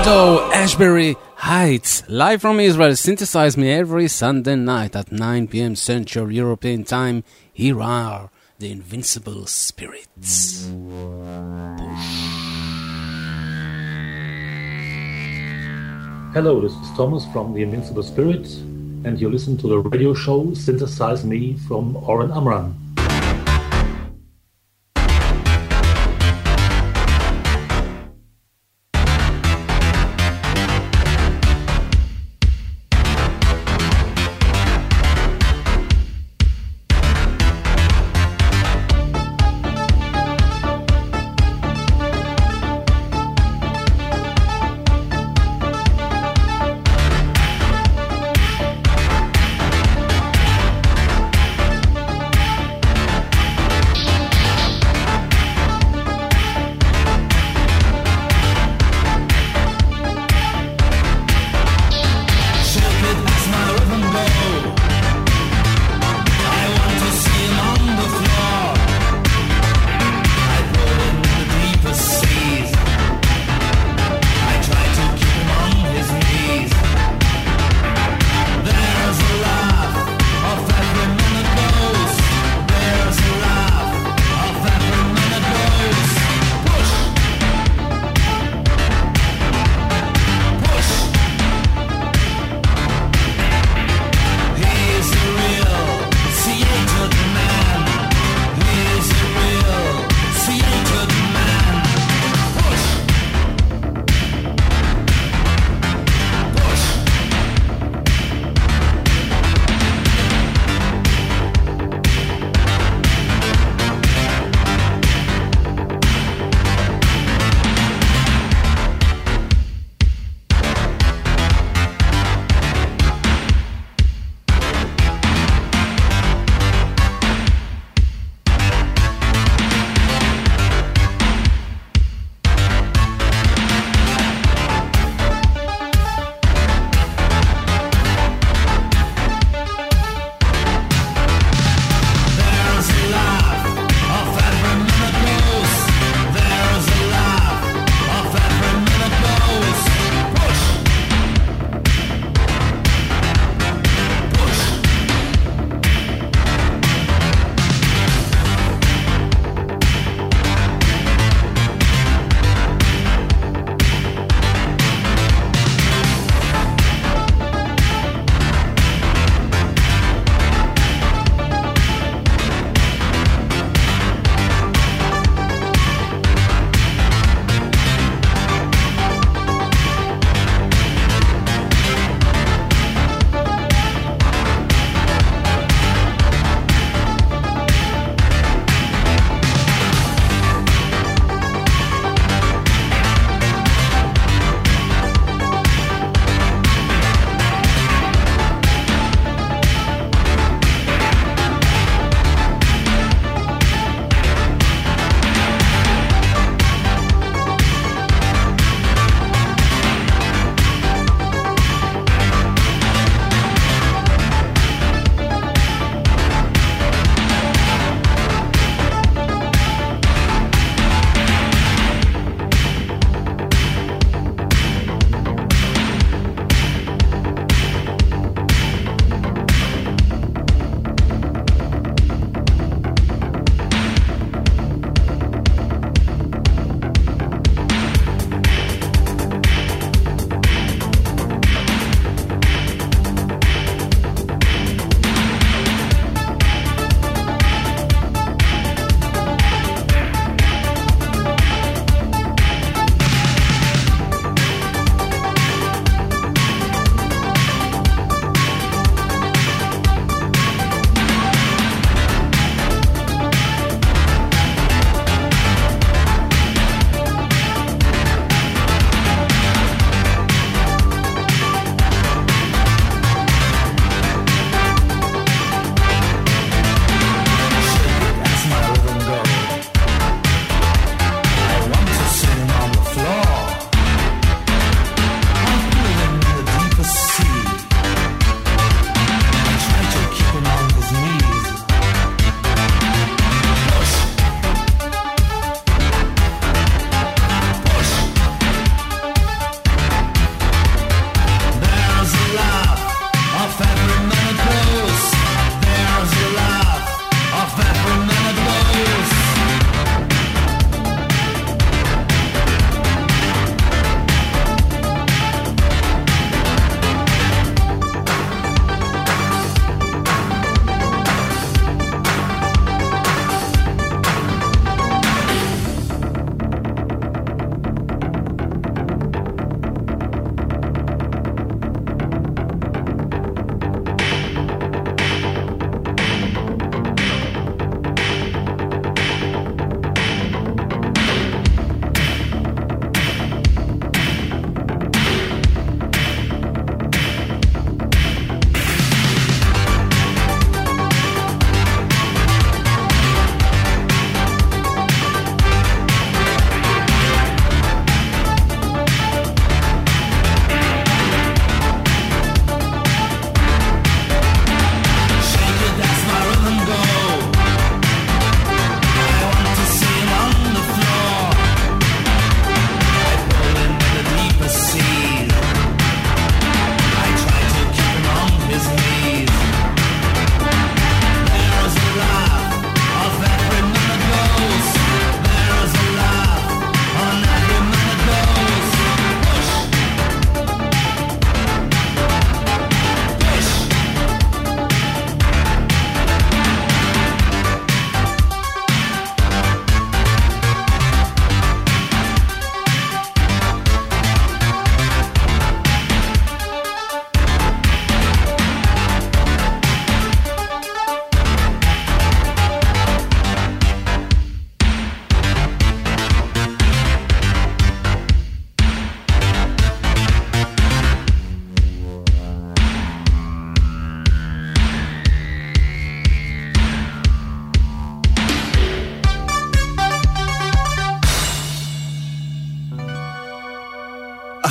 Shadow, Ashbury Heights, live from Israel. Synthesize Me every Sunday night at 9 p.m. Central European Time. Here are the Invincible Spirits. Hello, this is Thomas from the Invincible Spirits, and you listen to the radio show Synthesize Me from Oren Amram.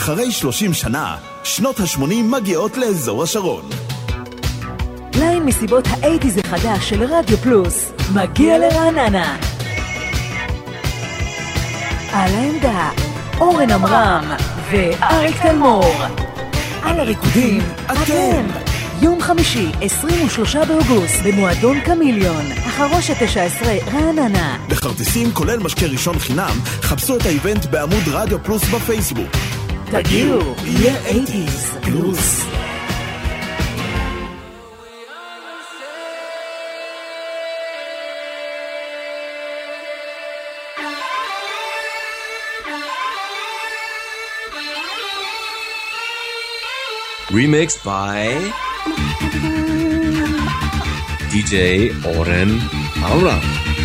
אחרי 30 שנה, שנות ה-80 מגיעות לאזור השרון. ליין מסיבות ה-80s החדש של רדיו פלוס מגיע לרעננה. על העמדה, אורן עמרם ואריק תלמור. על הריקודים, אתם. יום חמישי, 23 באוגוסט, במועדון קמיליון, החרושת 19, רעננה. לכרטיסים כולל משקה ראשון חינם, חפשו את האיבנט בעמוד רדיו פלוס בפייסבוק. תגיעו, יהיה 80s פלוס. Remixed by DJ Oren Amram.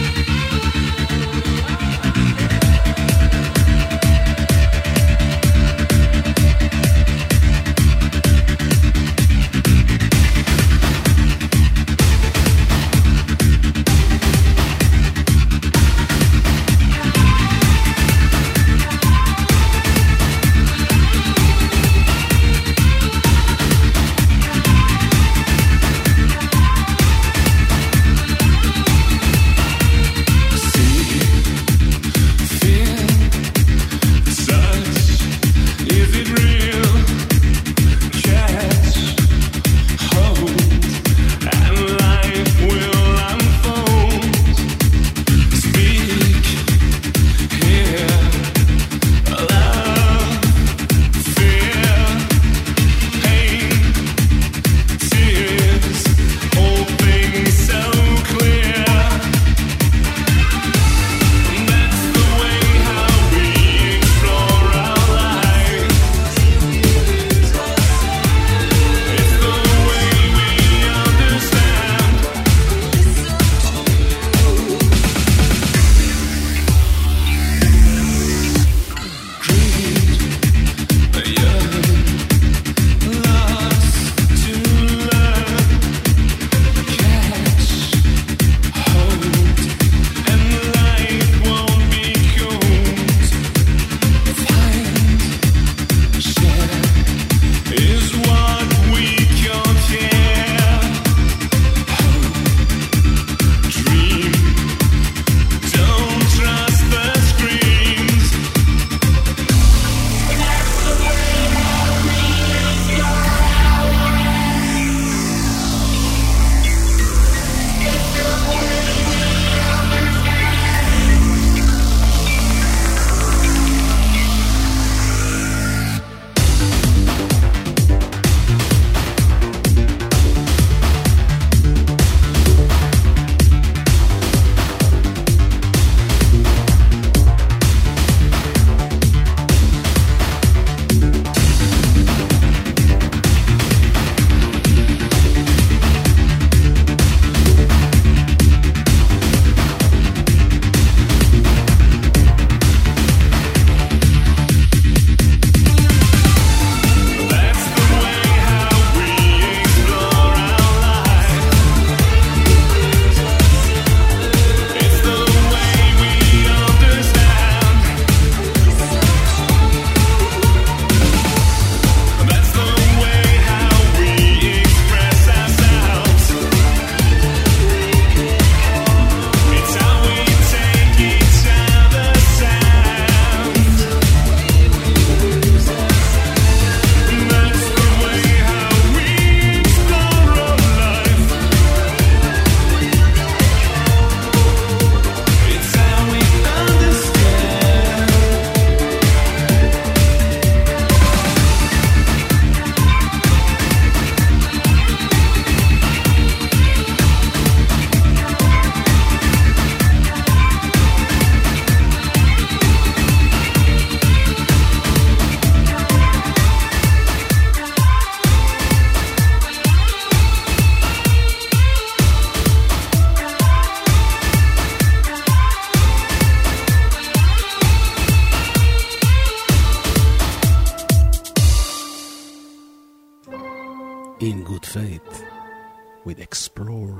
In Good Faith with Explore.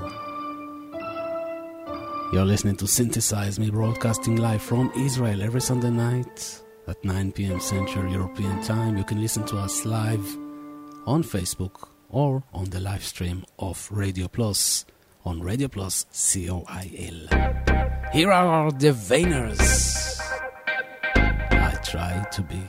You're listening to Synthesize Me, broadcasting live from Israel every Sunday night at 9 p.m. Central European Time. You can listen to us live on Facebook or on the live stream of Radio Plus on Radio Plus COIL. Here are the Vainers. I try to be.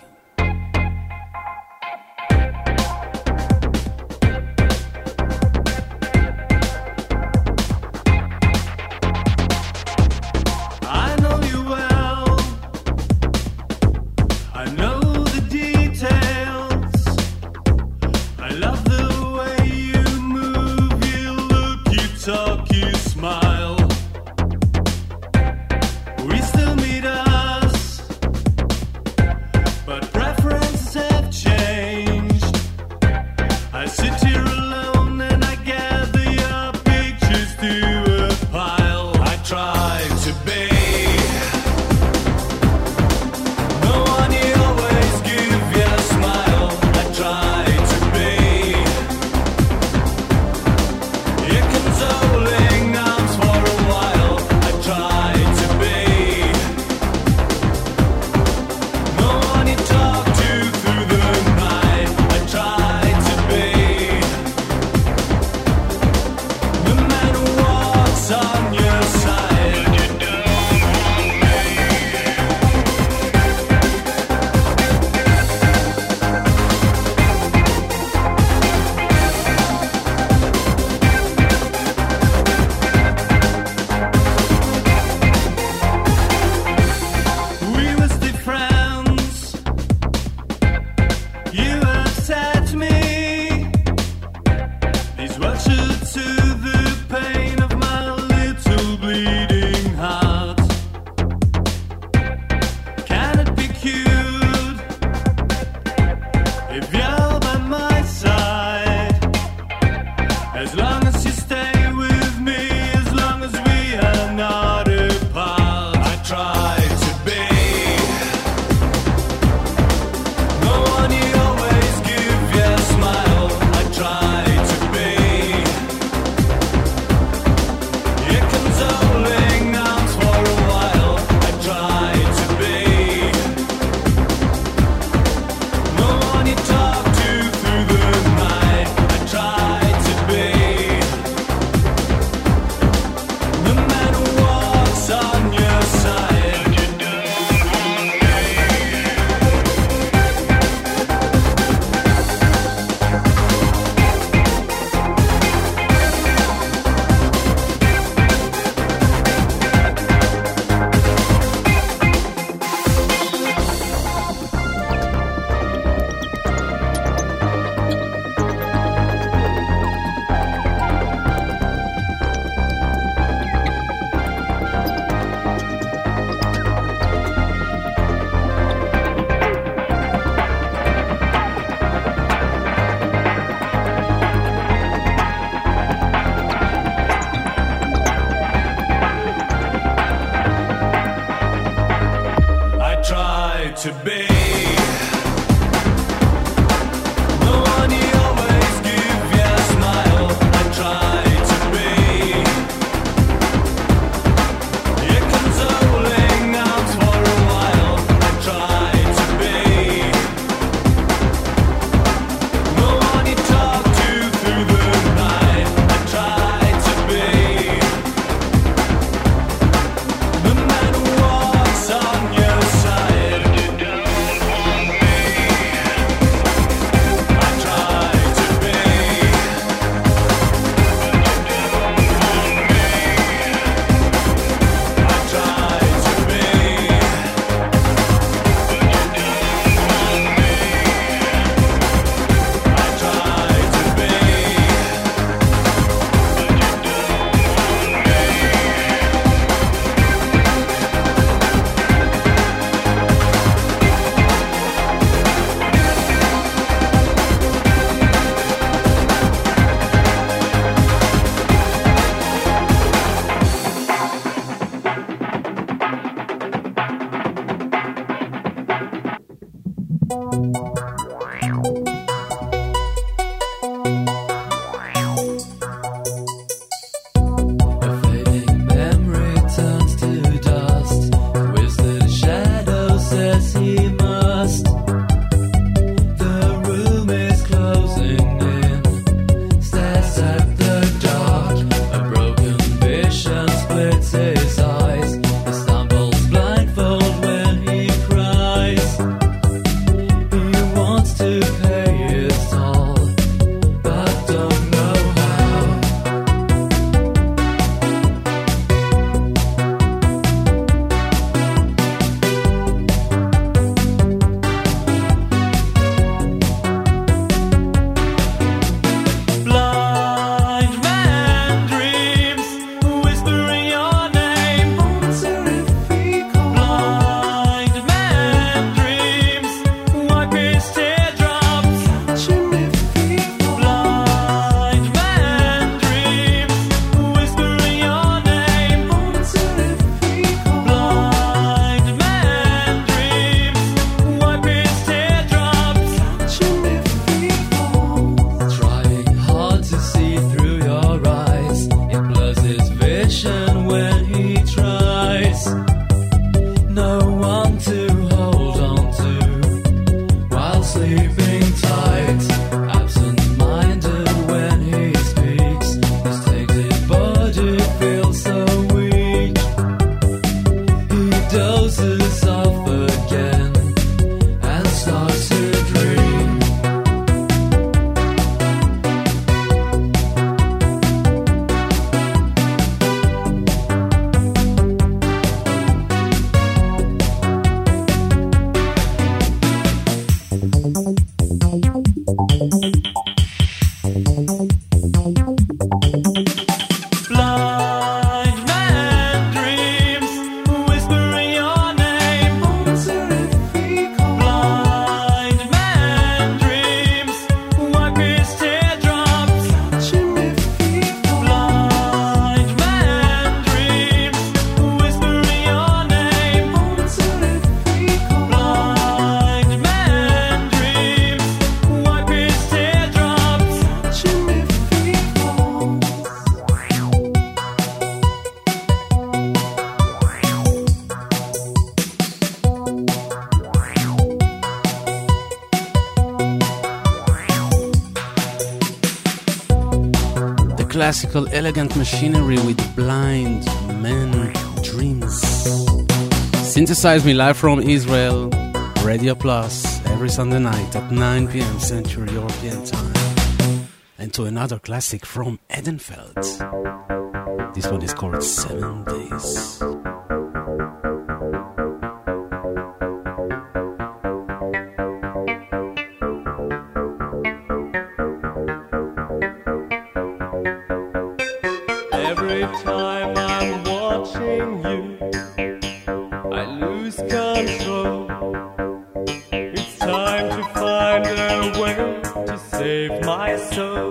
No matter what classical elegant machinery with Blind Man Dreams. Synthesize Me live from Israel, Radio Plus, every Sunday night at 9 p.m. Central European Time. And to another classic from Edenfeld. This one is called 7 Days. Every time I'm watching you, I lose control. It's time to find a way to save my soul.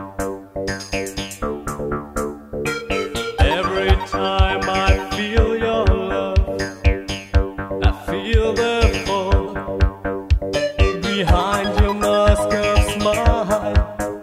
Every time I feel your love, I feel the fall behind your mask of smile.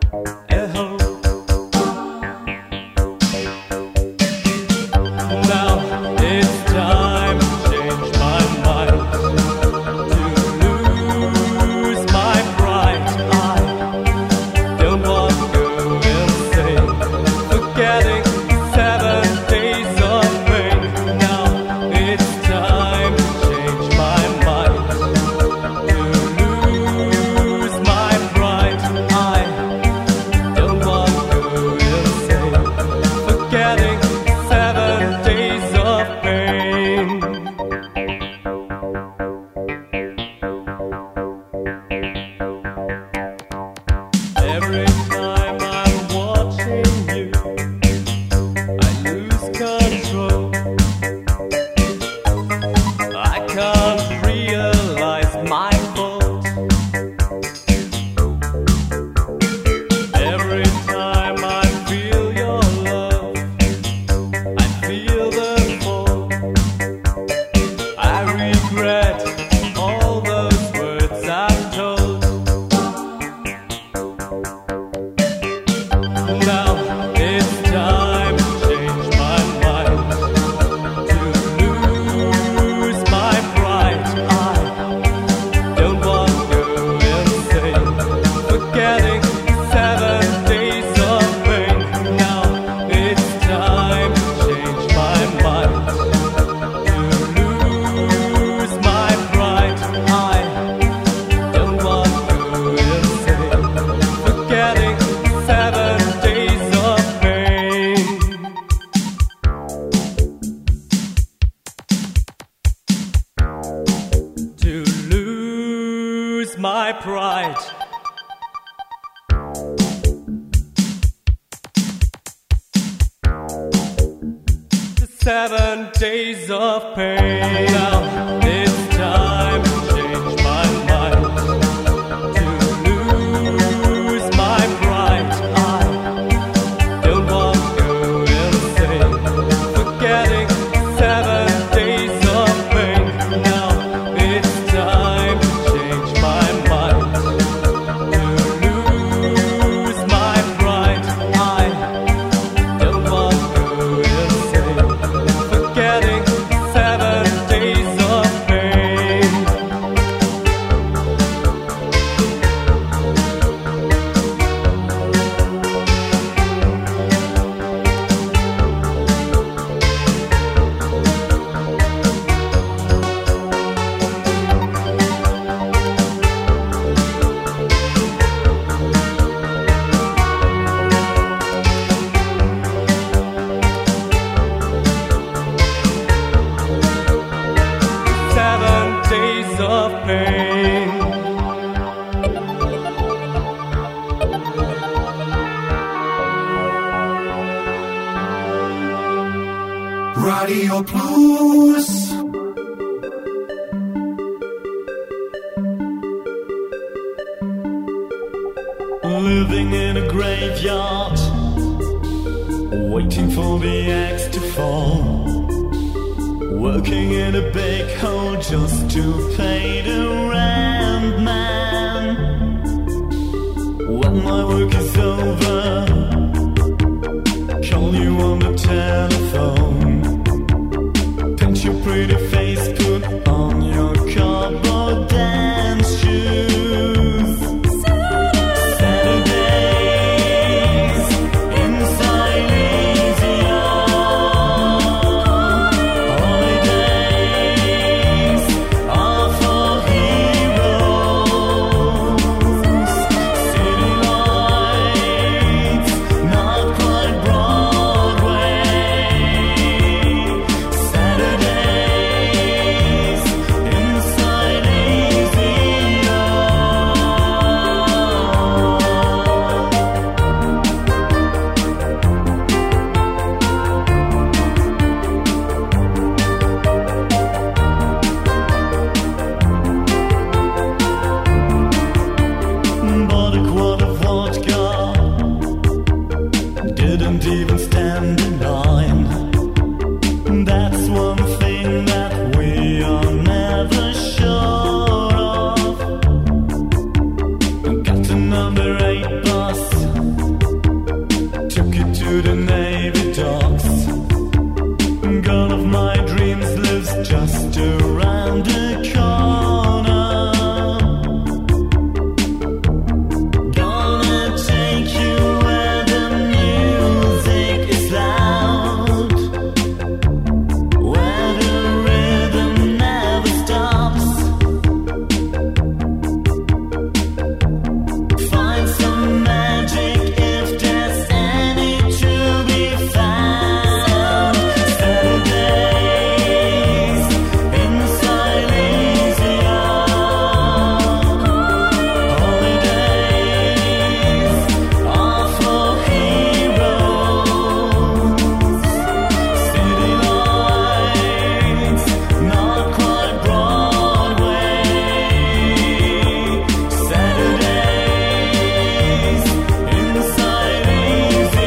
Radio Plus. Living in a graveyard, waiting for the axe to fall. Working in a big hole just to pay the rent, man. When my work is over, call you on the telephone. Paint your pretty face, put on your cardboard dance shoes. Saturdays inside Girl of my dreams lives just around the corner. Gonna take you where the music is loud, where the rhythm never stops. Find some magic if there's any to be found. Saturdays in Silesia, holidays are for heroes. City lights, not quite Broadway. Saturdays in Silesia.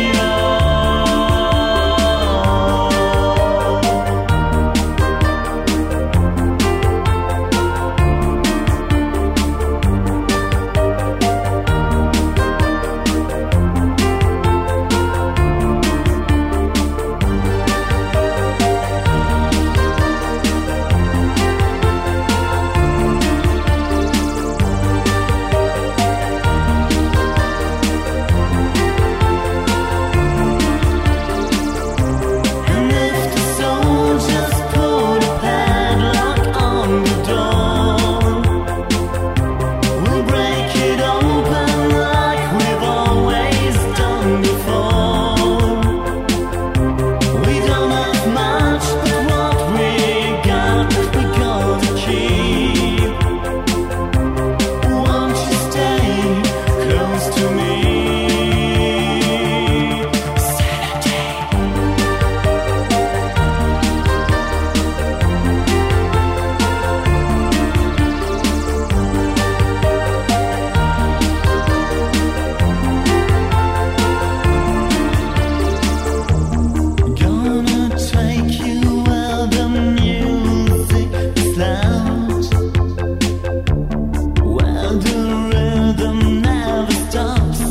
And if the soldiers put a padlock on the door, we'll break it open like we've always done before. We don't have much, but what we got, we gotta keep. Won't you stay close to me? Gonna take you where the music is loud, where the rhythm never stops.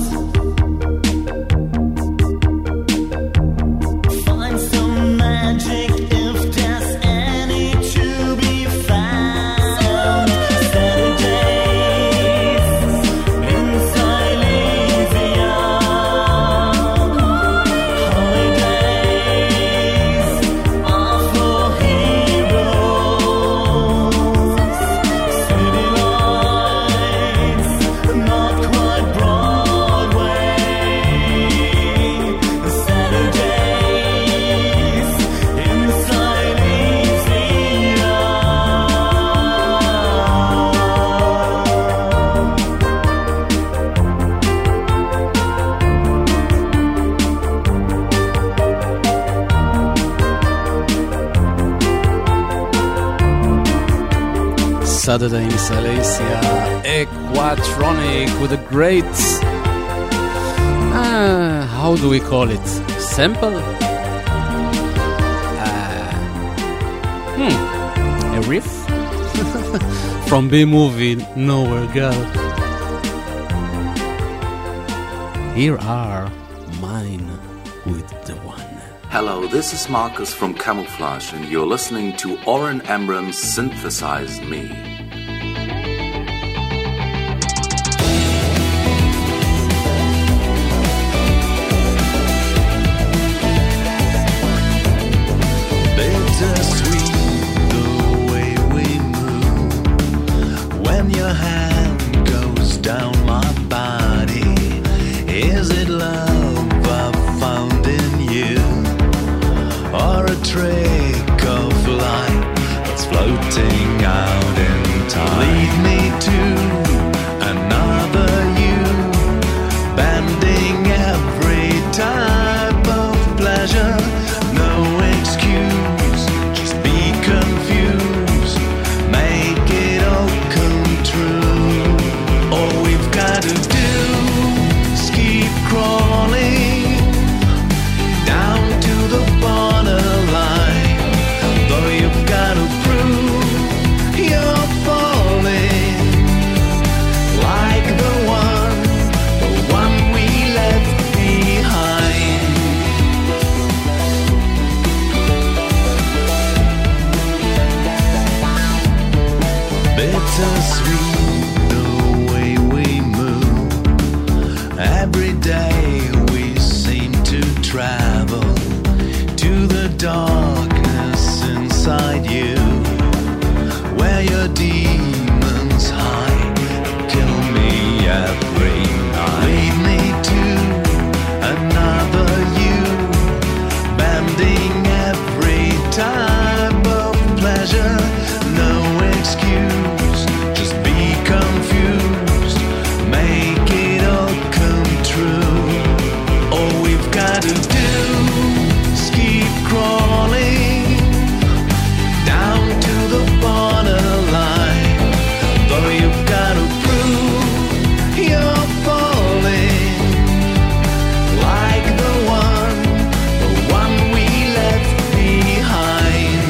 Find some magic if there's any to be found. Saturdays in Silesia, holidays are for heroes. City lights, not quite Broadway. Saturdays in Silesia. Saturday in Silesia, Aquatronic with a great, how do we call it? Sample? A riff? From B-movie Nowhere Girl. Here are Mine with the One. Hello, this is Marcus from Camouflage, and you're listening to Oren Amram's Synthesize Me. Bittersweet the way we move when your hand goes down my body. Is it love I've found in you, or a trick of light that's floating out in time? Lead me to another you, bending every type of pleasure. No excuse, just be confused. Make it all come true. All we've got to do is keep crawling down to the borderline. Though you've got to prove bittersweet the way we move. Every day we seem to travel to the darkness inside you, where your demons hide. Kill me every night. Lead me to another you, bending every type of pleasure. No excuse, just be confused. Make it all come true. All we've got to do is keep crawling down to the borderline. Though you've got to prove you're falling like the one we left behind.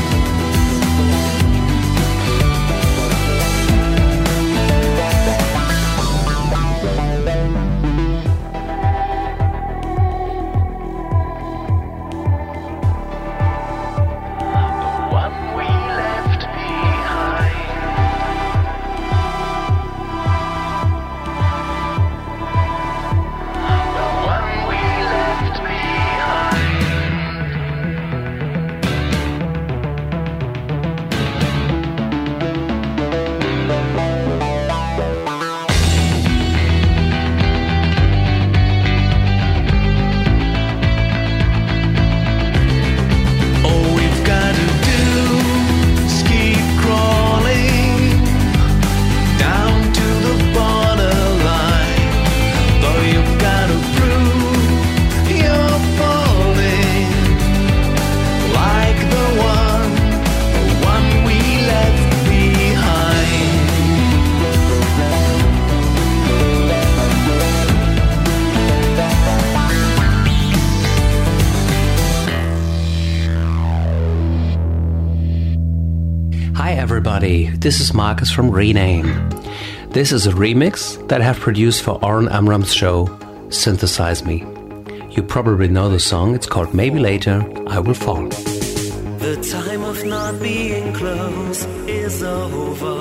This is Marcus from Rename. This is a remix that I have produced for Oren Amram's show, Synthesize Me. You probably know the song, it's called Maybe Later I Will Fall. The time of not being close is over.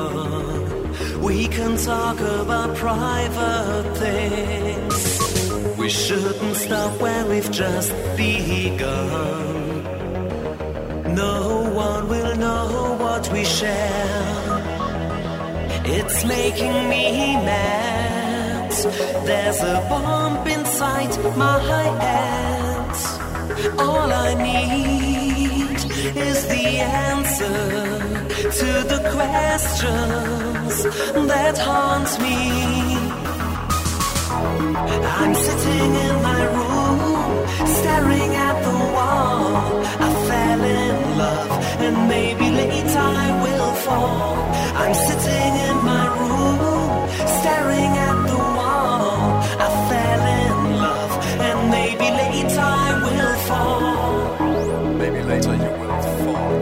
We can talk about private things. We shouldn't stop where we've just begun. No one will know what we share. It's making me mad. There's a bump inside my head. All I need is the answer to the questions that haunt me. I'm sitting in my room, staring at the wall. I fell in love, and maybe later I will fall. I'm sitting in my room, staring at the wall. I fell in love, and maybe later I will fall. Maybe later you will fall.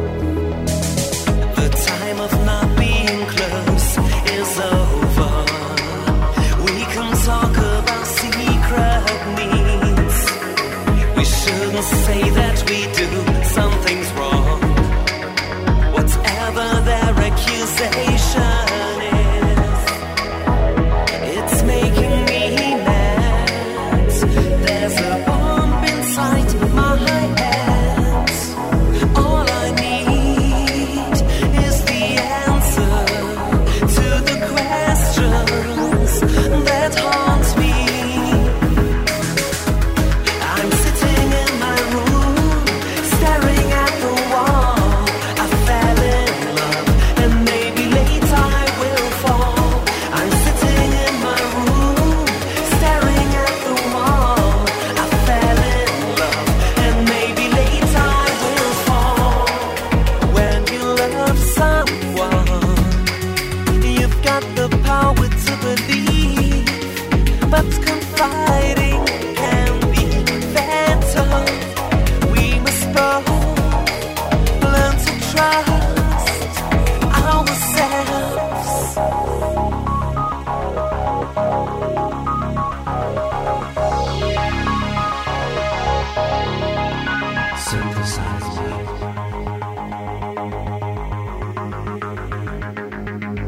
The time of not being close is over. We can talk about secret needs. We shouldn't say that we do something's wrong. Whatever their accusation is, it's making me mad. There's a bump inside my head. All I need is the answer to the questions that haunt me. I'm sitting in my room, staring at the wall. I fell in love, and maybe later I will fall. I'm sitting in my room, staring at the wall. I fell in love, and maybe later I will fall. When you love someone, you've got the power to believe, but confiding can be fatal. We must both learn to trust ourselves. Synthesize me.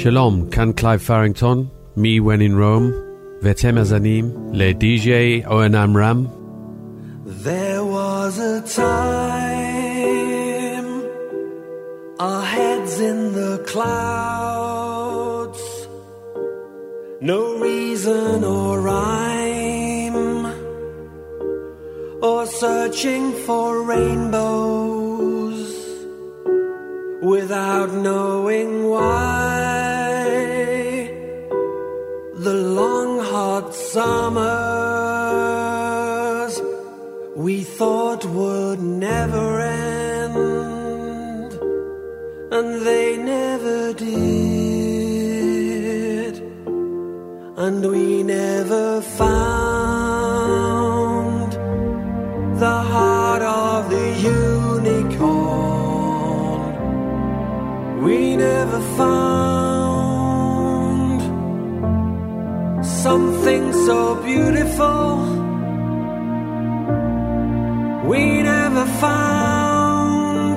שלום, כאן קלייב פרינגטון, מ-When in Rome, ואתם מאזינים ל-DJ אורן עמרם. There was a time our heads in the clouds, no reason or rhyme, or searching for rainbows without knowing why. The long hot summers we thought would never end, and they never did, and we never found the heart of the unicorn. We never found something so beautiful. We never found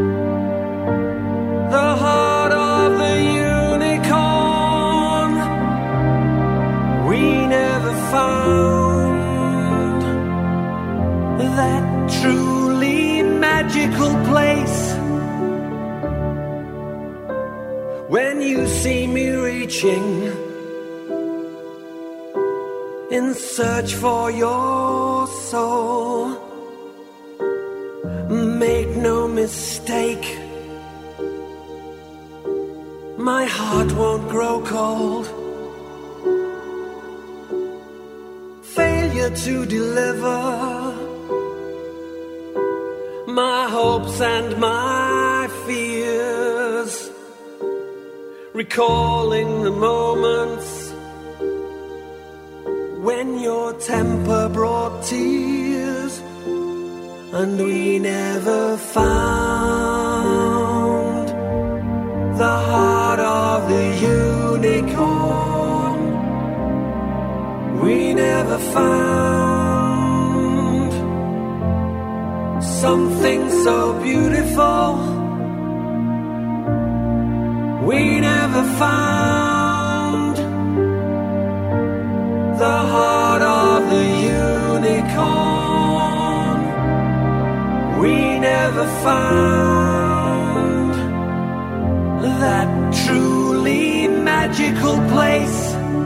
the heart of the unicorn. We never found that truly magical place. When you see me reaching in search for your soul, make no mistake, my heart won't grow cold. Failure to deliver my hopes and my fears, recalling the moments when your temper brought tears, and we never found the heart of the unicorn. We never found something so beautiful. We never found the heart of the unicorn. We never found that truly magical place.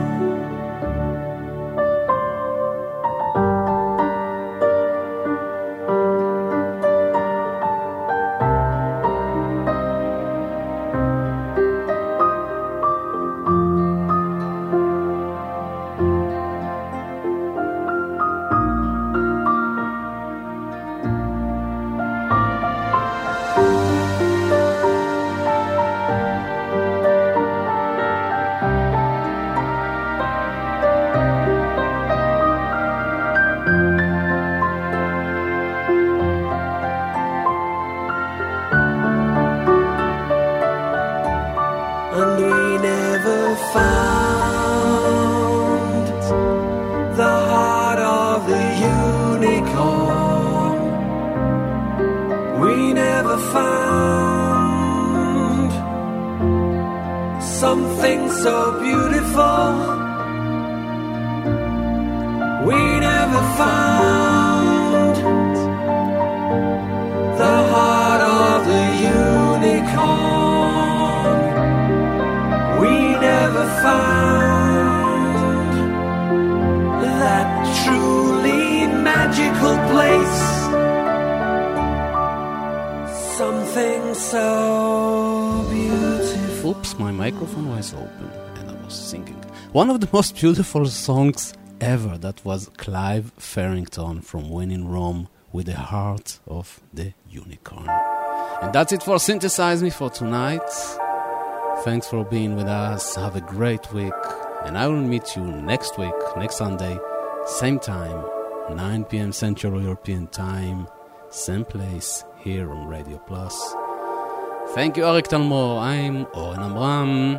One of the most beautiful songs ever, that was Clive Farrington from When in Rome with the Heart of the Unicorn. And that's it for Synthesize Me for tonight. Thanks for being with us. Have a great week. And I will meet you next week, next Sunday, same time, 9 p.m. Central European Time, same place, here on Radio Plus. Thank you, Arik Talmor. I'm Oren Amram.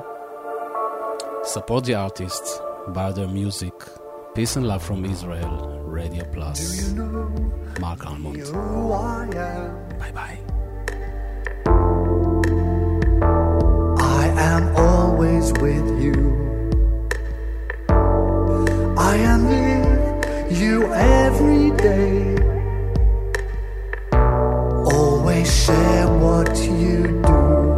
Support the artists, buy their music. Peace and love from Israel. Radio Plus. Mark Almond. Bye-bye. I am always always with you. I am near you every day. Always share what you do.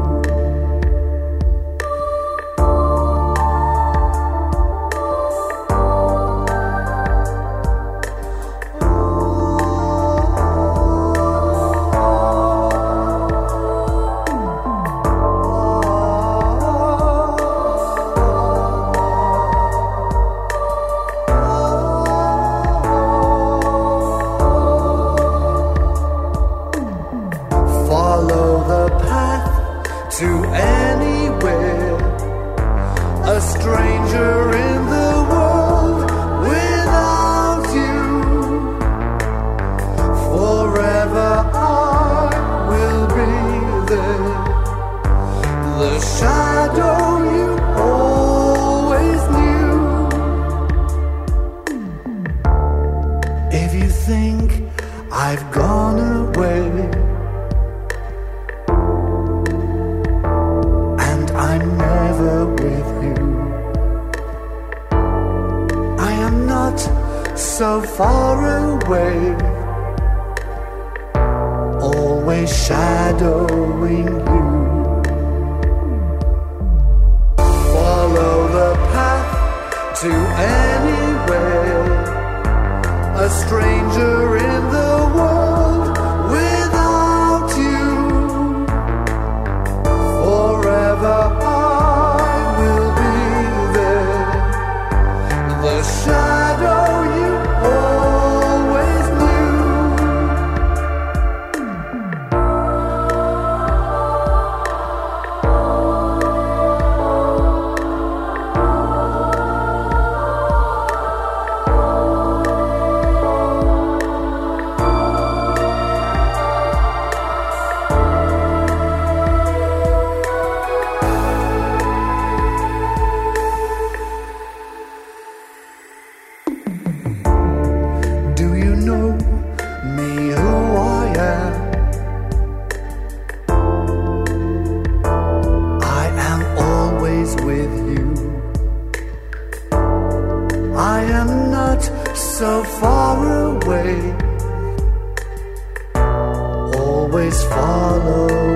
So far away, always shadowing you. Follow the path to anywhere, a stranger in the world without you. Forever I will be there, the shadow you always knew. Do you know me, who I am? I am always with you. I am not so far away, always follow